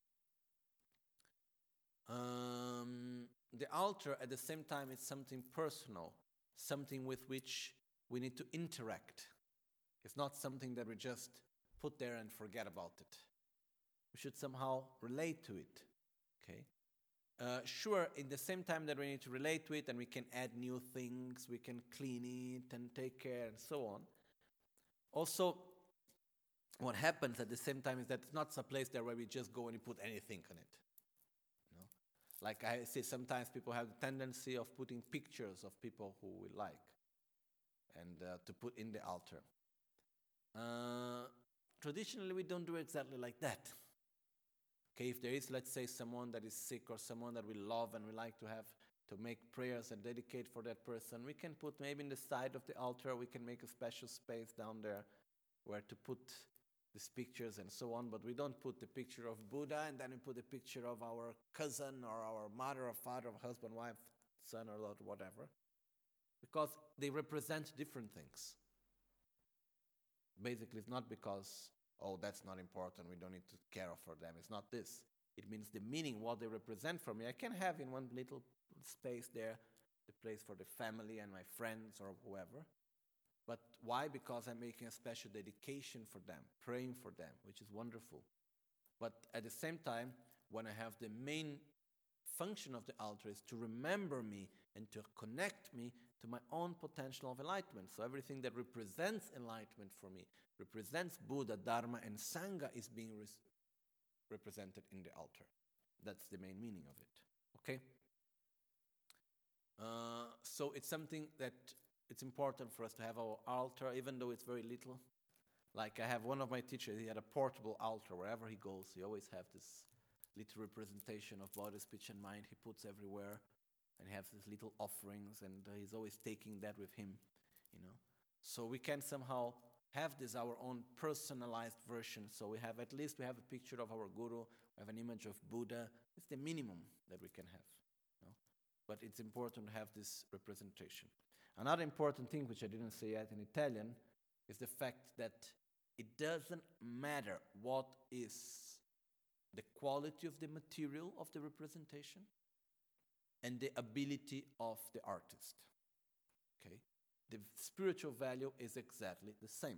Um, the altar, at the same time, is something personal, something with which we need to interact. It's not something that we just put there and forget about it. We should somehow relate to it. Okay? Uh, sure, in the same time that we need to relate to it, and we can add new things, we can clean it and take care and so on. Also, what happens at the same time is that it's not a place there where we just go and you put anything on it. You know? Like I say, sometimes people have the tendency of putting pictures of people who we like and uh, to put in the altar. Uh, traditionally, we don't do exactly like that. Okay, if there is, let's say, someone that is sick or someone that we love and we like to have to make prayers and dedicate for that person, we can put maybe in the side of the altar, we can make a special space down there where to put these pictures and so on, but we don't put the picture of Buddha and then we put the picture of our cousin or our mother or father or husband, wife, son or Lord, whatever, because they represent different things. Basically, it's not because, oh, that's not important, we don't need to care for them. It's not this. It means the meaning, what they represent for me. I can have in one little space there the place for the family and my friends or whoever. But why? Because I'm making a special dedication for them, praying for them, which is wonderful. But at the same time, when I have the main function of the altar is to remember me and to connect me to my own potential of enlightenment. So everything that represents enlightenment for me, represents Buddha, Dharma, and Sangha is being res- represented in the altar. That's the main meaning of it. Okay? Uh, so it's something that it's important for us to have our altar, even though it's very little. Like I have one of my teachers, he had a portable altar. Wherever he goes, he always have this little representation of body, speech, and mind he puts everywhere. And he has these little offerings, and uh, he's always taking that with him, you know. So we can somehow have this, our own personalized version. So we have, at least we have a picture of our Guru, we have an image of Buddha. It's the minimum that we can have, you know. But it's important to have this representation. Another important thing, which I didn't say yet in Italian, is the fact that it doesn't matter what is the quality of the material of the representation, and the ability of the artist. Okay? The spiritual value is exactly the same.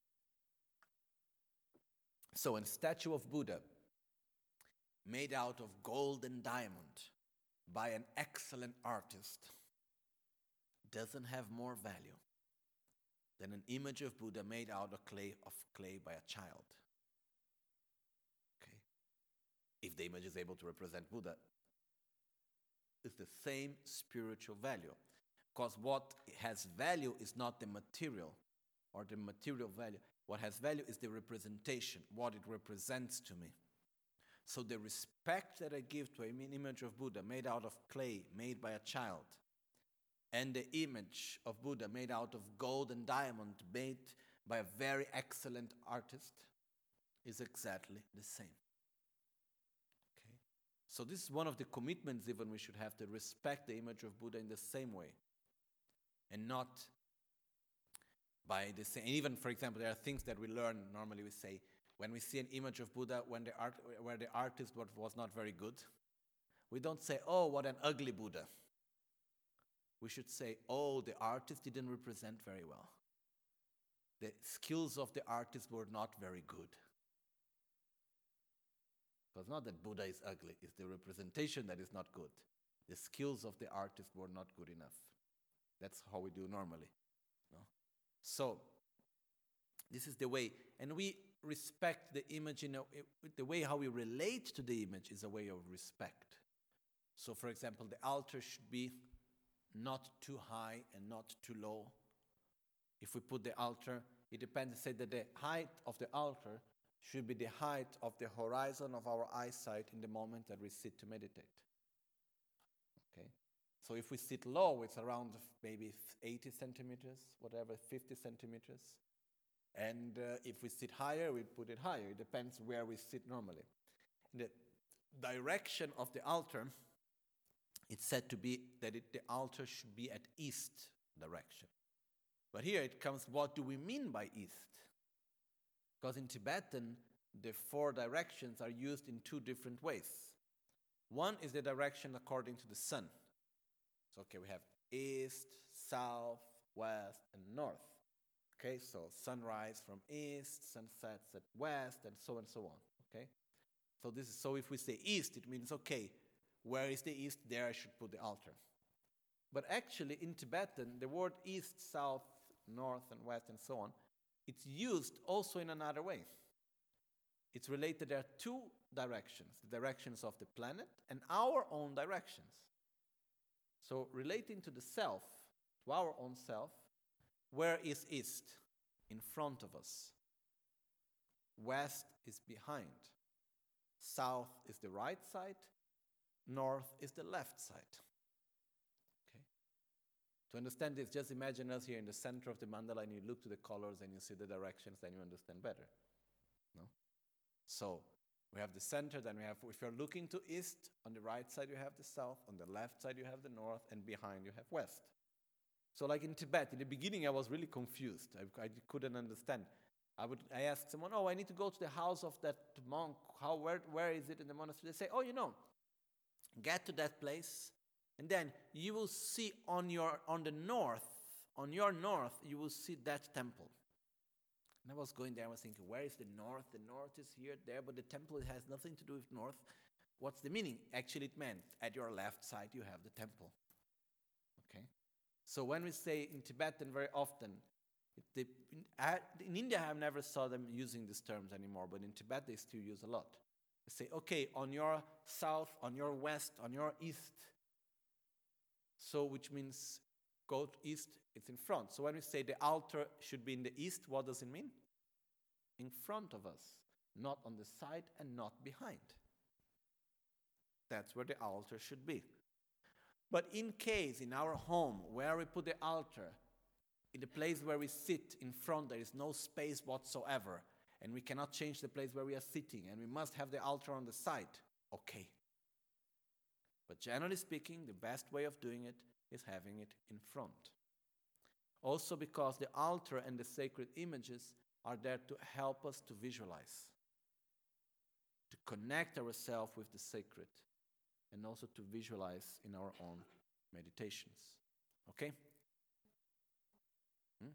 So a statue of Buddha made out of gold and diamond by an excellent artist doesn't have more value than an image of Buddha made out of clay of clay by a child. Okay? If the image is able to represent Buddha, it's the same spiritual value. Because what has value is not the material or the material value. What has value is the representation, what it represents to me. So the respect that I give to an image of Buddha made out of clay, made by a child, and the image of Buddha made out of gold and diamond, made by a very excellent artist, is exactly the same. Okay? So this is one of the commitments even we should have, to respect the image of Buddha in the same way. And not by the same. And even, for example, there are things that we learn, normally we say, when we see an image of Buddha when the art, where the artist was not very good, we don't say, oh, what an ugly Buddha. We should say, oh, the artist didn't represent very well. The skills of the artist were not very good. Because not that Buddha is ugly, it's the representation that is not good. The skills of the artist were not good enough. That's how we do normally. No? So, this is the way. And we respect the image in a, the way how we relate to the image is a way of respect. So, for example, the altar should be not too high and not too low. If we put the altar, it depends, say that the height of the altar should be the height of the horizon of our eyesight in the moment that we sit to meditate. Okay? So if we sit low, it's around maybe eighty centimeters, whatever, fifty centimeters. And uh, if we sit higher, we put it higher. It depends where we sit normally. And the direction of the altar, it's said to be that it, the altar should be at east direction. But here it comes, what do we mean by east? Because in Tibetan, the four directions are used in two different ways. One is the direction according to the sun. So, okay, we have east, south, west, and north. Okay, so sunrise from east, sunset at west, and so on and so on. Okay, so this is, so if we say east, it means, okay, where is the east? There I should put the altar. But actually, in Tibetan, the word east, south, north, and west, and so on, it's used also in another way. It's related, there are two directions, the directions of the planet and our own directions. So relating to the self, to our own self, where is east? In front of us. West is behind. South is the right side. North is the left side. Okay. To understand this, just imagine us here in the center of the mandala, and you look to the colors and you see the directions, then you understand better. No? So we have the center, then we have, if you're looking to east, on the right side you have the south, on the left side you have the north, and behind you have west. So like in Tibet, in the beginning I was really confused. I, I couldn't understand. I would I asked someone, oh, I need to go to the house of that monk. How where where is it in the monastery? They say, oh, you know, get to that place, and then you will see on your on the north, on your north, you will see that temple. And I was going there, I was thinking, where is the north? The north is here, there, but the temple has nothing to do with north. What's the meaning? Actually, it meant at your left side you have the temple. Okay? So when we say in Tibetan very often, it, they, in, uh, in India I have never saw them using these terms anymore, but in Tibet they still use a lot. They say, okay, on your south, on your west, on your east. So which means go to east, it's in front. So when we say the altar should be in the east, what does it mean? In front of us, not on the side and not behind. That's where the altar should be. But in case in our home where we put the altar, in the place where we sit in front, there is no space whatsoever, and we cannot change the place where we are sitting, and we must have the altar on the side, okay. But generally speaking, the best way of doing it is having it in front. Also because the altar and the sacred images are there to help us to visualize. to connect ourselves with the sacred, and also to visualize in our own meditations. Okay? Hmm?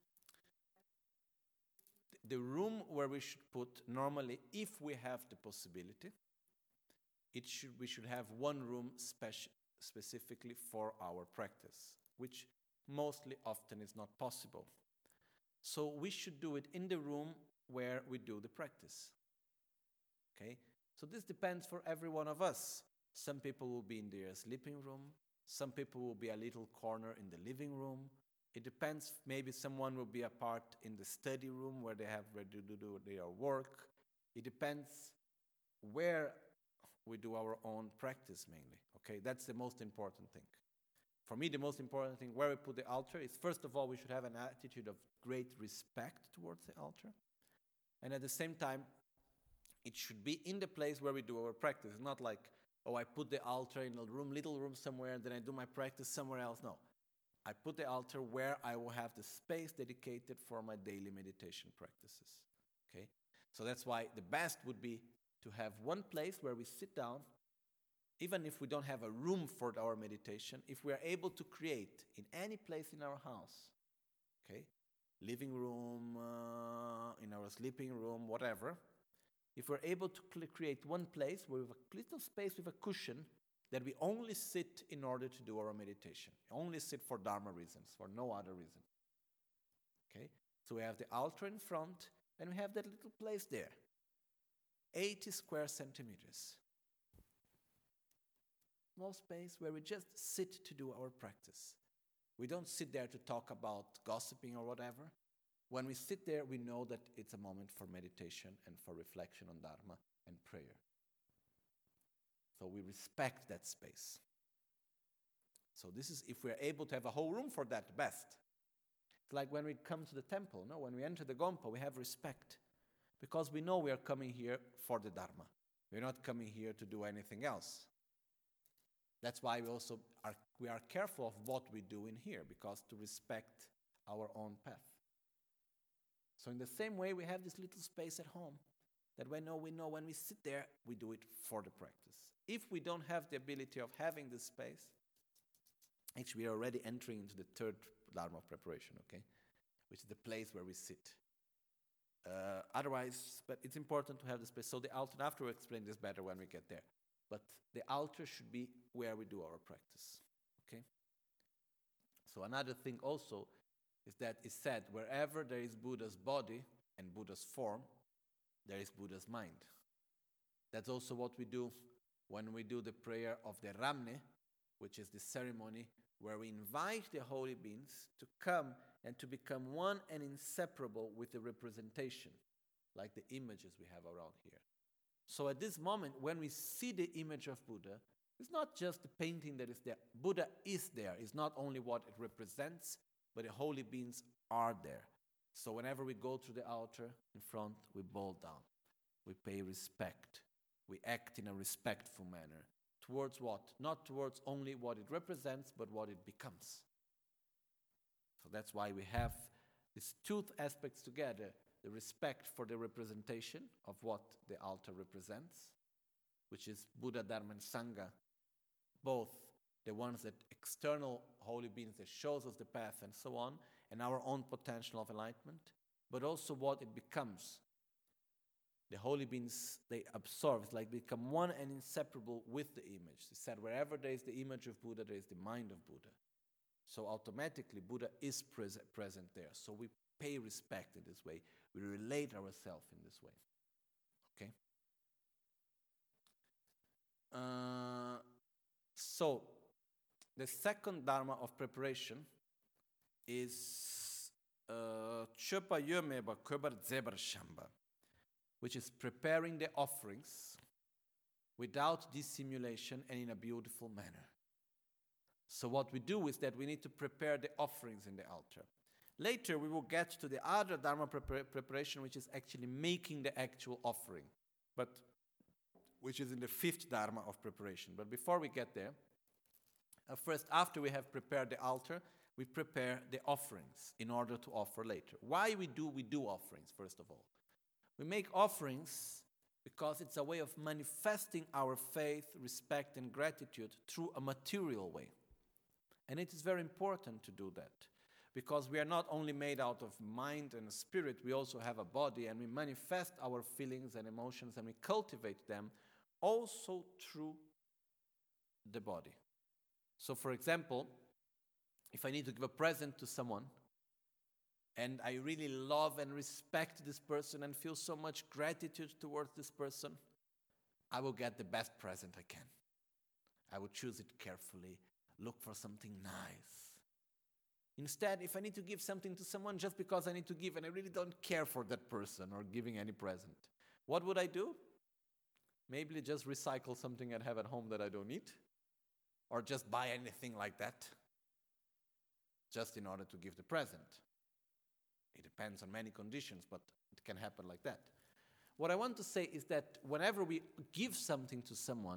The room where we should put, normally, if we have the possibility, it should we should have one room speci- specifically for our practice, which mostly often is not possible. So we should do it in the room where we do the practice. Okay? So this depends for every one of us. Some people will be in their sleeping room. Some people will be a little corner in the living room. It depends. Maybe someone will be a part in the study room where they have where they do their work. It depends where we do our own practice mainly. Okay, that's the most important thing. For me, the most important thing where we put the altar is, first of all, we should have an attitude of great respect towards the altar. And at the same time, it should be in the place where we do our practice. It's not like, oh, I put the altar in a room, little room somewhere, and then I do my practice somewhere else. No. I put the altar where I will have the space dedicated for my daily meditation practices. Okay? So that's why the best would be to have one place where we sit down, even if we don't have a room for our meditation, if we are able to create in any place in our house, okay, living room, uh, in our sleeping room, whatever, if we're able to cl- create one place with a little space with a cushion that we only sit in order to do our meditation, only sit for Dharma reasons, for no other reason. Okay, so we have the altar in front, and we have that little place there, eighty square centimeters. Small space where we just sit to do our practice. We don't sit there to talk about gossiping or whatever. When we sit there, we know that it's a moment for meditation and for reflection on Dharma and prayer. So we respect that space. So this is, if we're able to have a whole room for that, best. It's like when we come to the temple, no? When we enter the Gompa, we have respect. Because we know we are coming here for the Dharma. We're not coming here to do anything else. That's why we also are, we are careful of what we do in here, because to respect our own path. So in the same way, we have this little space at home that we know we know when we sit there, we do it for the practice. If we don't have the ability of having this space, actually we are already entering into the third Dharma of preparation, okay? Which is the place where we sit. Uh, otherwise, but it's important to have the space. So the altar, after we'll explain this better when we get there. But the altar should be where we do our practice, okay? So another thing also is that it's said, wherever there is Buddha's body and Buddha's form, there is Buddha's mind. That's also what we do when we do the prayer of the Ramne, which is the ceremony where we invite the holy beings to come and to become one and inseparable with the representation, like the images we have around here. So at this moment, when we see the image of Buddha, it's not just the painting that is there. Buddha is there. It's not only what it represents, but the holy beings are there. So whenever we go to the altar in front, we bow down. We pay respect. We act in a respectful manner. Towards what? Not towards only what it represents, but what it becomes. So that's why we have these two aspects together. The respect for the representation of what the altar represents, which is Buddha, Dharma, and Sangha, both the ones that external holy beings that shows us the path and so on, and our own potential of enlightenment, but also what it becomes. The holy beings, they absorb, it's like become one and inseparable with the image. They said wherever there is the image of Buddha, there is the mind of Buddha. So automatically Buddha is pres- present there. So we pay respect in this way. We relate ourselves in this way. Okay? Uh, so, the second Dharma of preparation is Chöpa Yömeba Köbar Zebar Shamba, which is preparing the offerings without dissimulation and in a beautiful manner. So what we do is that we need to prepare the offerings in the altar. Later we will get to the other Dharma prepar- preparation, which is actually making the actual offering, but which is in the fifth Dharma of preparation. But before we get there, uh, first, after we have prepared the altar, we prepare the offerings in order to offer later. Why we do we do offerings, first of all? We make offerings because it's a way of manifesting our faith, respect, and gratitude through a material way. And it is very important to do that, because we are not only made out of mind and spirit, we also have a body, and we manifest our feelings and emotions, and we cultivate them also through the body. So, for example, if I need to give a present to someone, and I really love and respect this person and feel so much gratitude towards this person, I will get the best present I can. I will choose it carefully, look for something nice. Instead, if I need to give something to someone just because I need to give and I really don't care for that person or giving any present, what would I do? Maybe just recycle something I have at home that I don't need, or just buy anything like that, just in order to give the present. It depends on many conditions, but it can happen like that. What I want to say is that whenever we give something to someone,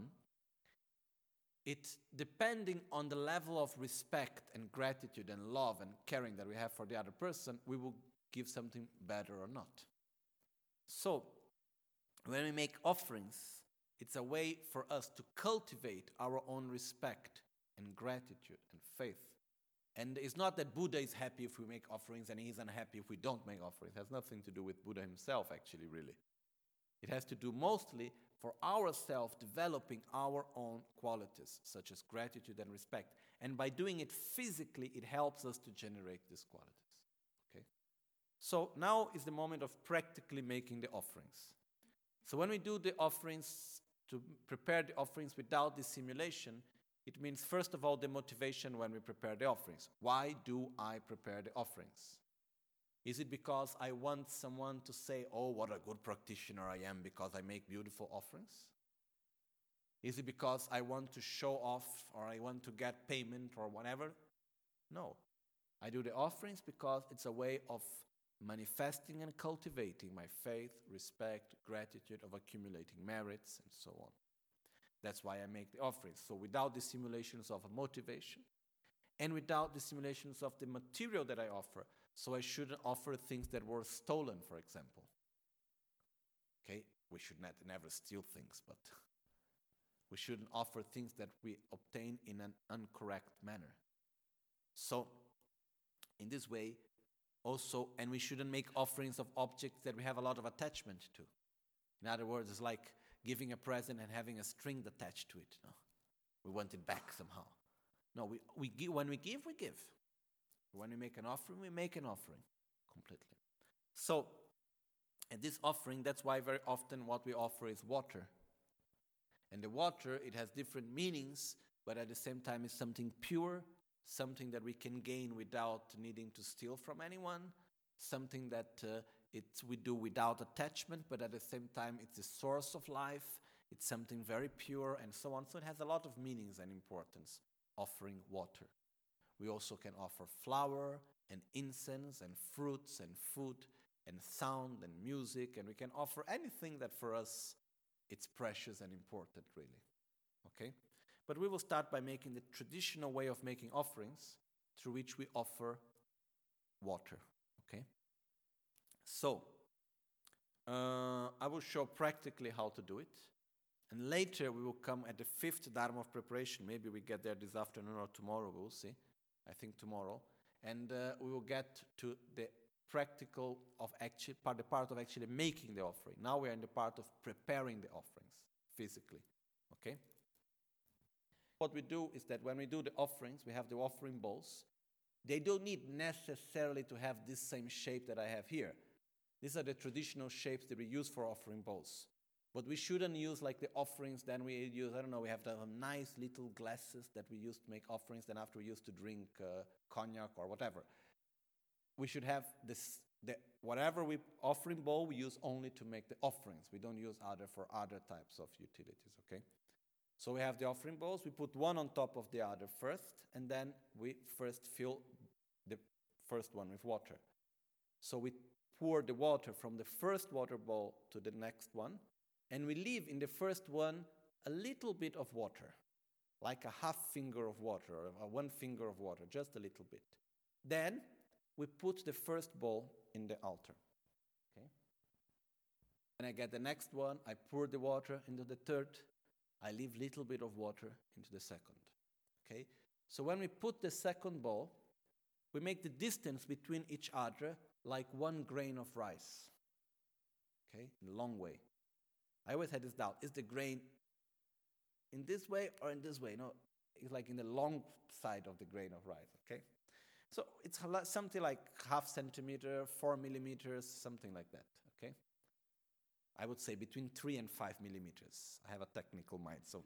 it's depending on the level of respect and gratitude and love and caring that we have for the other person, we will give something better or not. So, when we make offerings, it's a way for us to cultivate our own respect and gratitude and faith. And it's not that Buddha is happy if we make offerings and he's unhappy if we don't make offerings. It has nothing to do with Buddha himself, actually, really. It has to do mostly for ourselves developing our own qualities, such as gratitude and respect. And by doing it physically, it helps us to generate these qualities. Okay? So now is the moment of practically making the offerings. So when we do the offerings, to prepare the offerings without dissimulation, it means, first of all, the motivation when we prepare the offerings. Why do I prepare the offerings? Is it because I want someone to say, oh, what a good practitioner I am because I make beautiful offerings? Is it because I want to show off or I want to get payment or whatever? No. I do the offerings because it's a way of manifesting and cultivating my faith, respect, gratitude, of accumulating merits, and so on. That's why I make the offerings. So without the simulations of a motivation and without the simulations of the material that I offer. So I shouldn't offer things that were stolen, for example. Okay, we should not, never steal things, but we shouldn't offer things that we obtain in an incorrect manner. So in this way, also, and we shouldn't make offerings of objects that we have a lot of attachment to. In other words, it's like giving a present and having a string attached to it. No? We want it back somehow. No, we, we give, when we give, we give. When we make an offering, we make an offering completely. So, and this offering, that's why very often what we offer is water. And the water, it has different meanings, but at the same time it's something pure, something that we can gain without needing to steal from anyone, something that uh, it's, we do without attachment, but at the same time it's the source of life, it's something very pure, and so on. So it has a lot of meanings and importance, offering water. We also can offer flour and incense and fruits and food and sound and music, and we can offer anything that for us it's precious and important, really. Okay? But we will start by making the traditional way of making offerings, through which we offer water. Okay? So, uh, I will show practically how to do it. And later we will come at the fifth Dharma of preparation. Maybe we get there this afternoon or tomorrow, we will see. I think tomorrow. And uh, we will get to the practical of actually, part, the part of actually making the offering. Now we are in the part of preparing the offerings physically. Okay? What we do is that when we do the offerings, we have the offering bowls. They don't need necessarily to have this same shape that I have here. These are the traditional shapes that we use for offering bowls. But we shouldn't use like the offerings, then we use, I don't know, we have to have nice little glasses that we use to make offerings, then after we use to drink uh, cognac or whatever. We should have this, the, whatever we offering bowl, we use only to make the offerings. We don't use other for other types of utilities, okay? So we have the offering bowls, we put one on top of the other first, and then we first fill the first one with water. So we pour the water from the first water bowl to the next one, and we leave in the first one a little bit of water, like a half finger of water, or a one finger of water, just a little bit. Then we put the first bowl in the altar. Okay? When I get the next one, I pour the water into the third. I leave little bit of water into the second. Okay? So when we put the second bowl, we make the distance between each other like one grain of rice. Okay? In a long way. I always had this doubt. Is the grain in this way or in this way? No, it's like in the long side of the grain of rice. Okay? So it's something like half centimeter, four millimeters, something like that. Okay? I would say between three and five millimeters. I have a technical mind, so.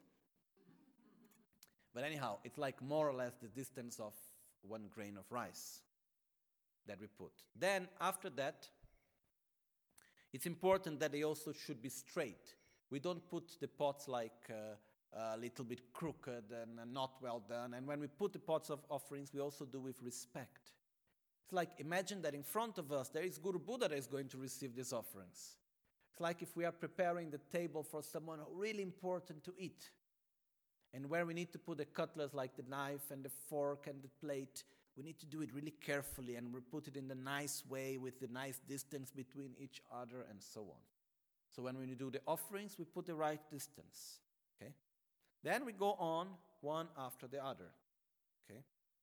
But anyhow, it's like more or less the distance of one grain of rice that we put. Then after that, it's important that they also should be straight. We don't put the pots like uh, a little bit crooked and uh, not well done. And when we put the pots of offerings, we also do with respect. It's like, imagine that in front of us, there is Guru Buddha that is going to receive these offerings. It's like if we are preparing the table for someone really important to eat. And where we need to put the cutlass, like the knife and the fork and the plate, we need to do it really carefully, and we put it in the nice way with the nice distance between each other and so on. So when we do the offerings, we put the right distance. Okay? Then we go on one after the other. Okay?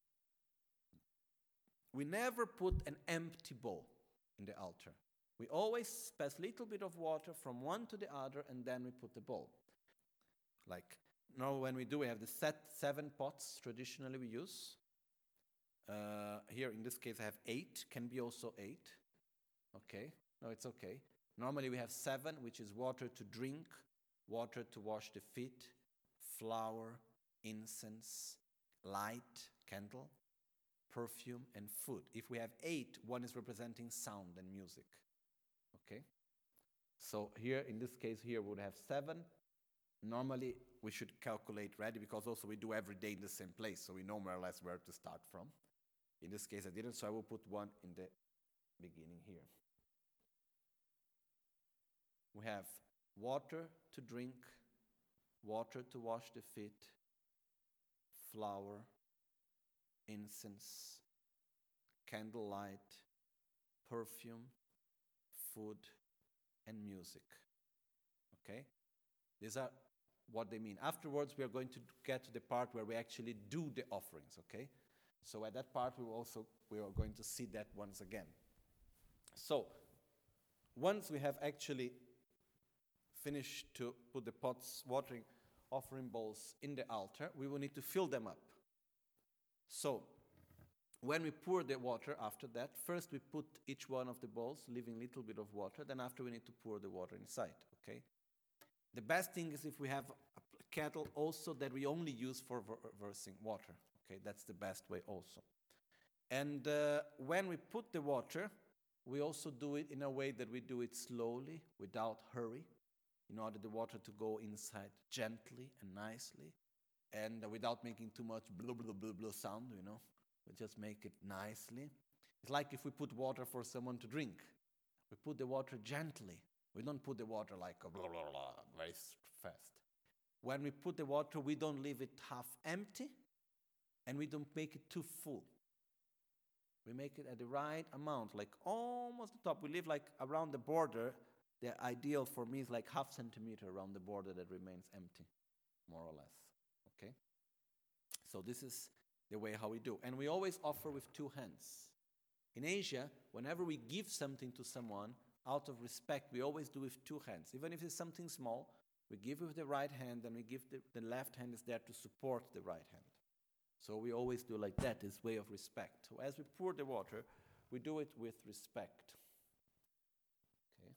We never put an empty bowl in the altar. We always pass a little bit of water from one to the other, and then we put the bowl. Like now when we do, we have the set seven pots traditionally we use. Uh, here in this case I have eight, can be also eight. Okay, no, it's okay. Normally we have seven, which is water to drink, water to wash the feet, flour, incense, light, candle, perfume, and food. If we have eight, one is representing sound and music. Okay? So here, in this case here, we would have seven. Normally, we should calculate ready, because also we do every day in the same place, so we know more or less where to start from. In this case, I didn't, so I will put one in the beginning here. We have water to drink, water to wash the feet, flour, incense, candlelight, perfume, food, and music. Okay? These are what they mean. Afterwards, we are going to get to the part where we actually do the offerings, okay? So at that part, we will also we are going to see that once again. So once we have actually finished to put the pots, watering, offering bowls in the altar, we will need to fill them up. So when we pour the water after that, first we put each one of the bowls, leaving a little bit of water. Then after we need to pour the water inside, okay? The best thing is if we have a kettle also that we only use for versing water. Okay, that's the best way also. And uh, when we put the water, we also do it in a way that we do it slowly, without hurry, in order the water to go inside gently and nicely, and uh, without making too much blah, blah, blah, blah sound, you know. We just make it nicely. It's like if we put water for someone to drink. We put the water gently. We don't put the water like a blah, blah, blah, very fast. When we put the water, we don't leave it half empty, and we don't make it too full. We make it at the right amount, like almost the top. We leave like around the border. The ideal for me is like half centimeter around the border that remains empty, more or less. Okay? So this is the way how we do. And we always offer with two hands. In Asia, whenever we give something to someone, out of respect, we always do with two hands. Even if it's something small, we give with the right hand, and we give the, the left hand is there to support the right hand. So we always do like that, this way of respect. So as we pour the water, we do it with respect. Okay.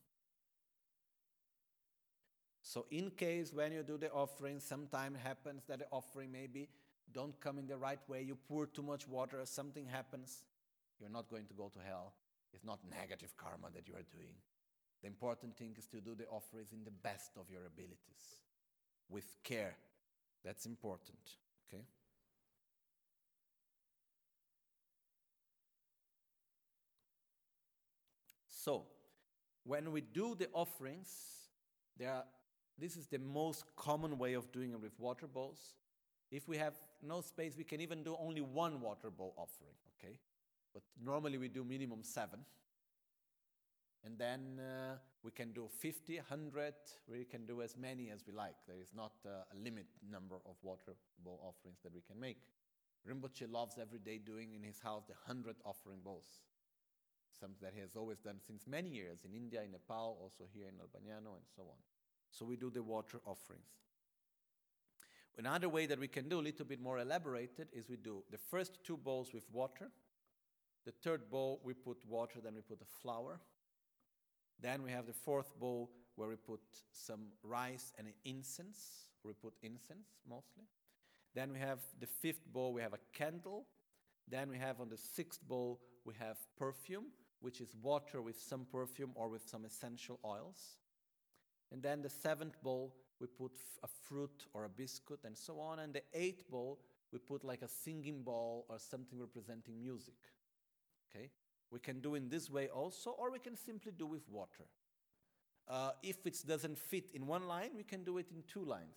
So in case when you do the offering, sometimes happens that the offering maybe don't come in the right way, you pour too much water, something happens, you're not going to go to hell. It's not negative karma that you are doing. The important thing is to do the offerings in the best of your abilities, with care. That's important, okay? So, when we do the offerings, there are, this is the most common way of doing it with water bowls. If we have no space, we can even do only one water bowl offering, okay? But normally we do minimum seven. And then uh, we can do fifty, one hundred, we can do as many as we like. There is not uh, a limit number of water bowl offerings that we can make. Rinpoche loves every day doing in his house the one hundred offering bowls. Something that he has always done since many years in India, in Nepal, also here in Albagnano, and so on. So we do the water offerings. Another way that we can do, a little bit more elaborated, is we do the first two bowls with water. The third bowl, we put water, then we put a flower. Then we have the fourth bowl where we put some rice and incense. We put incense mostly. Then we have the fifth bowl, we have a candle. Then we have on the sixth bowl, we have perfume, which is water with some perfume or with some essential oils. And then the seventh bowl, we put f- a fruit or a biscuit and so on. And the eighth bowl, we put like a singing bowl or something representing music. Okay? We can do in this way also, or we can simply do with water. Uh, if it doesn't fit in one line, we can do it in two lines.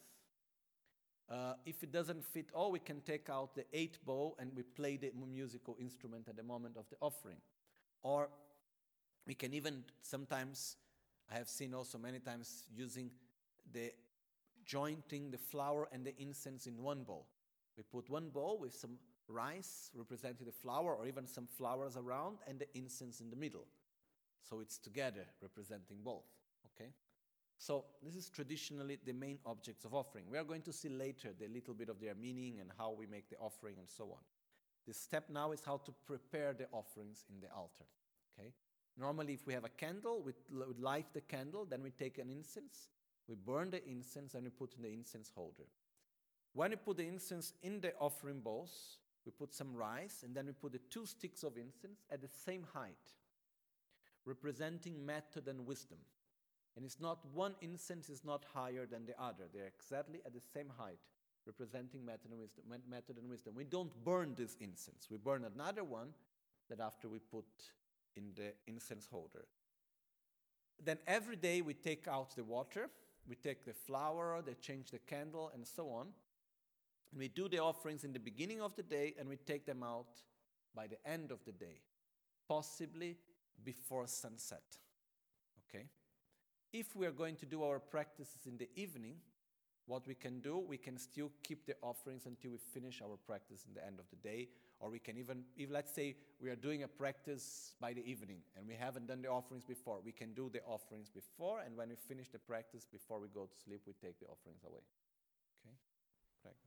Uh, if it doesn't fit all, we can take out the eighth bowl and we play the musical instrument at the moment of the offering. Or we can even sometimes, I have seen also many times using the jointing the flour and the incense in one bowl. We put one bowl with some rice representing the flour or even some flowers around and the incense in the middle. So it's together representing both. Okay? So this is traditionally the main objects of offering. We are going to see later the little bit of their meaning and how we make the offering and so on. The step now is how to prepare the offerings in the altar. Okay? Normally if we have a candle, we light the candle, then we take an incense, we burn the incense and we put in the incense holder. When we put the incense in the offering bowls, we put some rice and then we put the two sticks of incense at the same height, representing method and wisdom. And it's not one incense is not higher than the other. They're exactly at the same height, representing method and wisdom. Method and wisdom. We don't burn this incense. We burn another one that after we put in the incense holder. Then every day we take out the water, we take the flour, they change the candle, and so on. We do the offerings in the beginning of the day, and we take them out by the end of the day, possibly before sunset. Okay? If we are going to do our practices in the evening, what we can do, we can still keep the offerings until we finish our practice in the end of the day, or we can even, if let's say we are doing a practice by the evening and we haven't done the offerings before, we can do the offerings before, and when we finish the practice, before we go to sleep, we take the offerings away. Okay? Prego.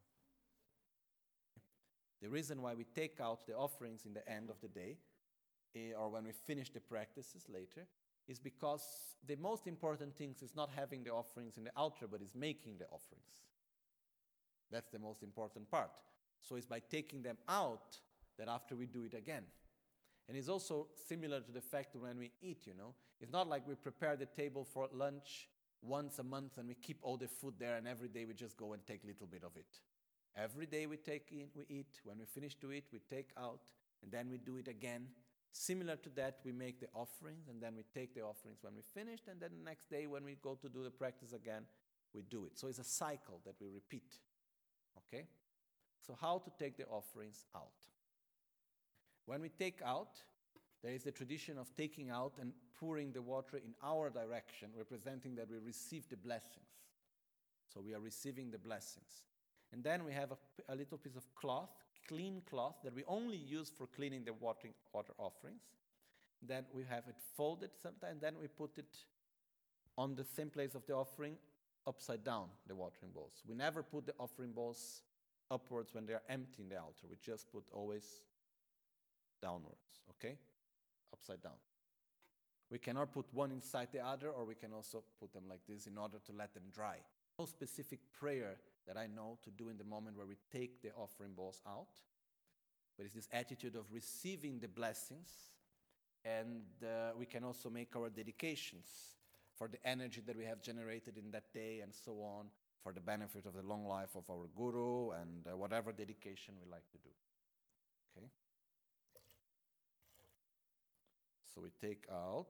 The reason why we take out the offerings in the end of the day, eh, or when we finish the practices later, is because the most important thing is not having the offerings in the altar, but is making the offerings. That's the most important part. So it's by taking them out that after we do it again. And it's also similar to the fact that when we eat, you know, it's not like we prepare the table for lunch once a month and we keep all the food there and every day we just go and take a little bit of it. Every day we take in, we eat. When we finish to eat, we take out, and then we do it again. Similar to that, we make the offerings, and then we take the offerings when we finished, and then the next day when we go to do the practice again, we do it. So it's a cycle that we repeat. Okay? So how to take the offerings out? When we take out, there is the tradition of taking out and pouring the water in our direction, representing that we receive the blessings. So we are receiving the blessings. And then we have a, a little piece of cloth, clean cloth, that we only use for cleaning the water, water offerings. Then we have it folded sometimes, then we put it on the same place of the offering, upside down, the watering bowls. We never put the offering bowls upwards when they are empty in the altar. We just put always downwards, okay? Upside down. We cannot put one inside the other, or we can also put them like this in order to let them dry. No specific prayer that I know to do in the moment where we take the offering bowls out, but it's this attitude of receiving the blessings, and uh, we can also make our dedications for the energy that we have generated in that day and so on, for the benefit of the long life of our guru and uh, whatever dedication we like to do. Okay? So we take out.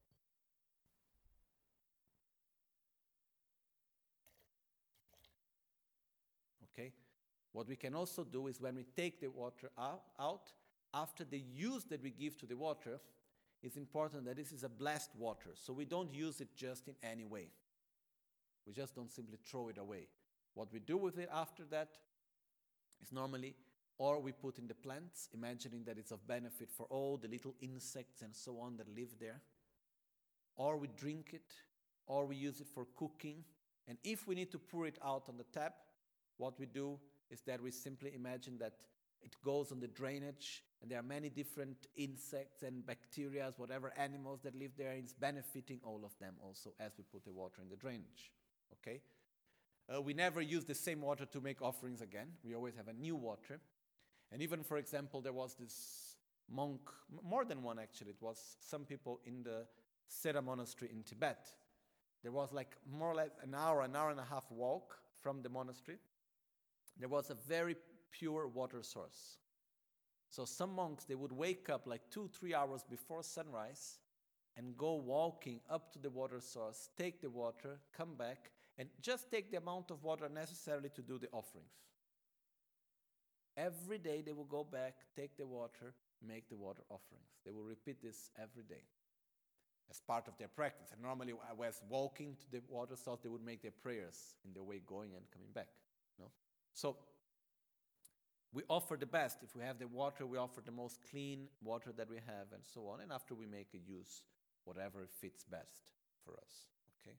Okay? What we can also do is when we take the water out, out, after the use that we give to the water, it's important that this is a blessed water, so we don't use it just in any way. We just don't simply throw it away. What we do with it after that is normally, or we put in the plants, imagining that it's of benefit for all the little insects and so on that live there, or we drink it, or we use it for cooking. And if we need to pour it out on the tap, what we do is that we simply imagine that it goes on the drainage, and there are many different insects and bacteria, whatever animals that live there, and it's benefiting all of them also as we put the water in the drainage. Okay? Uh, we never use the same water to make offerings again. We always have a new water. And even, for example, there was this monk, more than one actually, it was some people in the Sera monastery in Tibet. There was like more or less an hour, an hour and a half walk from the monastery. There was a very pure water source. So some monks, they would wake up like two, three hours before sunrise and go walking up to the water source, take the water, come back, and just take the amount of water necessary to do the offerings. Every day they will go back, take the water, make the water offerings. They will repeat this every day as part of their practice. And normally, as walking to the water source, they would make their prayers in their way going and coming back. No? So we offer the best. If we have the water, we offer the most clean water that we have, and so on. And after we make a use, whatever fits best for us. Okay.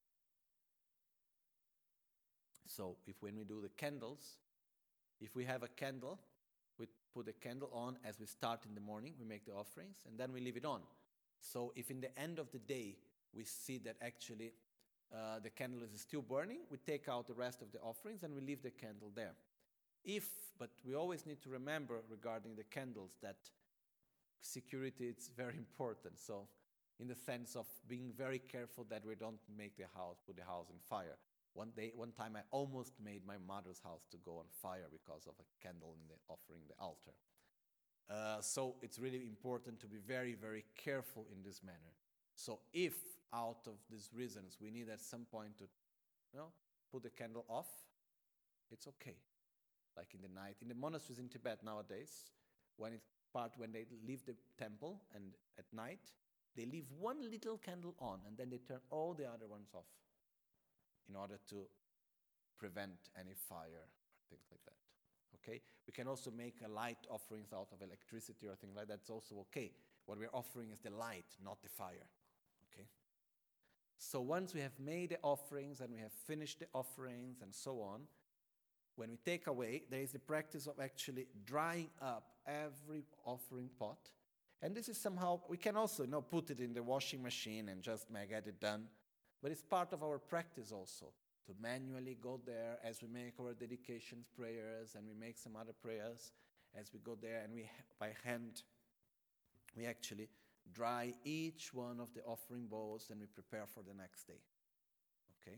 So if when we do the candles, if we have a candle, we put the candle on as we start in the morning, we make the offerings, and then we leave it on. So if in the end of the day we see that actually uh, the candle is still burning, we take out the rest of the offerings and we leave the candle there. If, but we always need to remember regarding the candles that security is very important. So in the sense of being very careful that we don't make the house, put the house in fire. One day, one time I almost made my mother's house to go on fire because of a candle in the offering the altar. Uh, so it's really important to be very, very careful in this manner. So if out of these reasons we need at some point to, you know, put the candle off, it's okay. Like in the night, in the monasteries in Tibet nowadays, when it's part when they leave the temple and at night, they leave one little candle on and then they turn all the other ones off in order to prevent any fire or things like that. Okay? We can also make a light offerings out of electricity or things like that. That's also okay. What we're offering is the light, not the fire. Okay? So once we have made the offerings and we have finished the offerings and so on, when we take away, there is the practice of actually drying up every offering pot. And this is somehow, we can also, you know, put it in the washing machine and just get it done. But it's part of our practice also, to manually go there as we make our dedications prayers and we make some other prayers as we go there and we, by hand, we actually dry each one of the offering bowls and we prepare for the next day. Okay?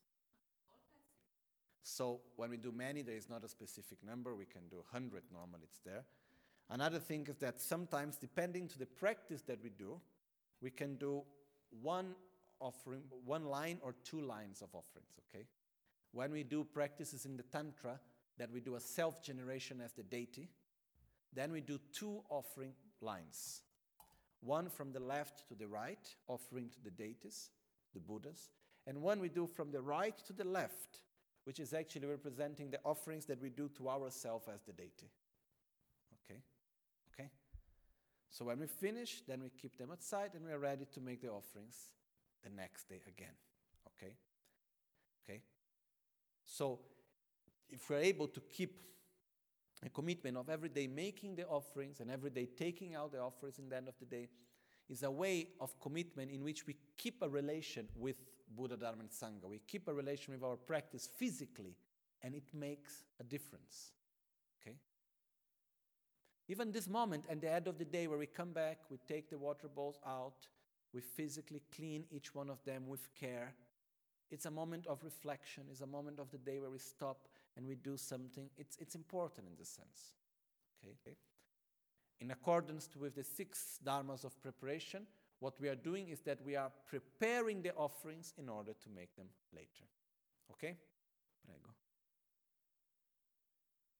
So when we do many, there is not a specific number. We can do one hundred normally, it's there. Another thing is that sometimes, depending to the practice that we do, we can do one offering, one line or two lines of offerings, okay? When we do practices in the Tantra, that we do a self-generation as the deity, then we do two offering lines. One from the left to the right, offering to the deities, the Buddhas, and one we do from the right to the left, which is actually representing the offerings that we do to ourselves as the deity. Okay? Okay? So when we finish, then we keep them outside and we are ready to make the offerings the next day again. Okay? Okay? So if we're able to keep a commitment of every day making the offerings and every day taking out the offerings in the end of the day, is a way of commitment in which we keep a relation with Buddha, Dharma, and Sangha. We keep a relation with our practice physically, and it makes a difference. Okay? Even this moment, at the end of the day, where we come back, we take the water bowls out, we physically clean each one of them with care. It's a moment of reflection. It's a moment of the day where we stop and we do something. It's, it's important in this sense. Okay? Okay? In accordance with the six dharmas of preparation, what we are doing is that we are preparing the offerings in order to make them later. Okay? Prego.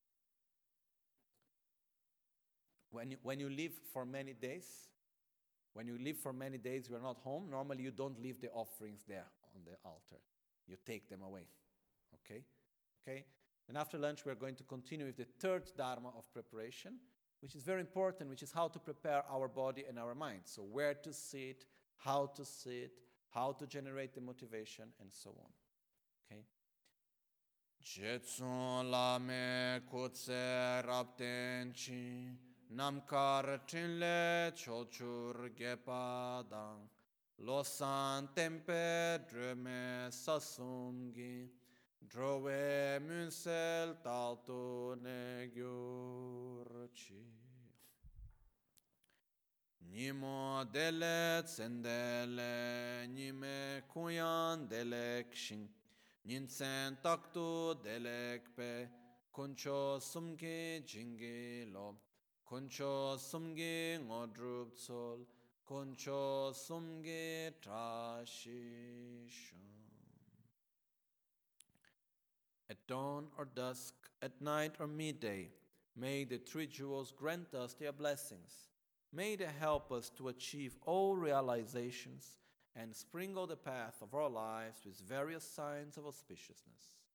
When you, when you live for many days, When you live for many days, you are not home. Normally, you don't leave the offerings there on the altar. You take them away. Okay? Okay? And after lunch, we're going to continue with the third dharma of preparation, which is very important, which is how to prepare our body and our mind. So where to sit, how to sit, how to generate the motivation, and so on. Okay? Jetsun lame kutse rapten chi namkar chinle chochur gepadang losan tempe dreme sasumgi drove munsel taltoegyurchi Nimo dele tsendele nime kuyan delekshin Ninsen taktu delekpe kuncho sumgi jingi lo kuncho sumgi ngodrup tsol kuncho sumgi trashishon. At dawn or dusk, at night or midday, may the three jewels grant us their blessings. May they help us to achieve all realizations and sprinkle the path of our lives with various signs of auspiciousness.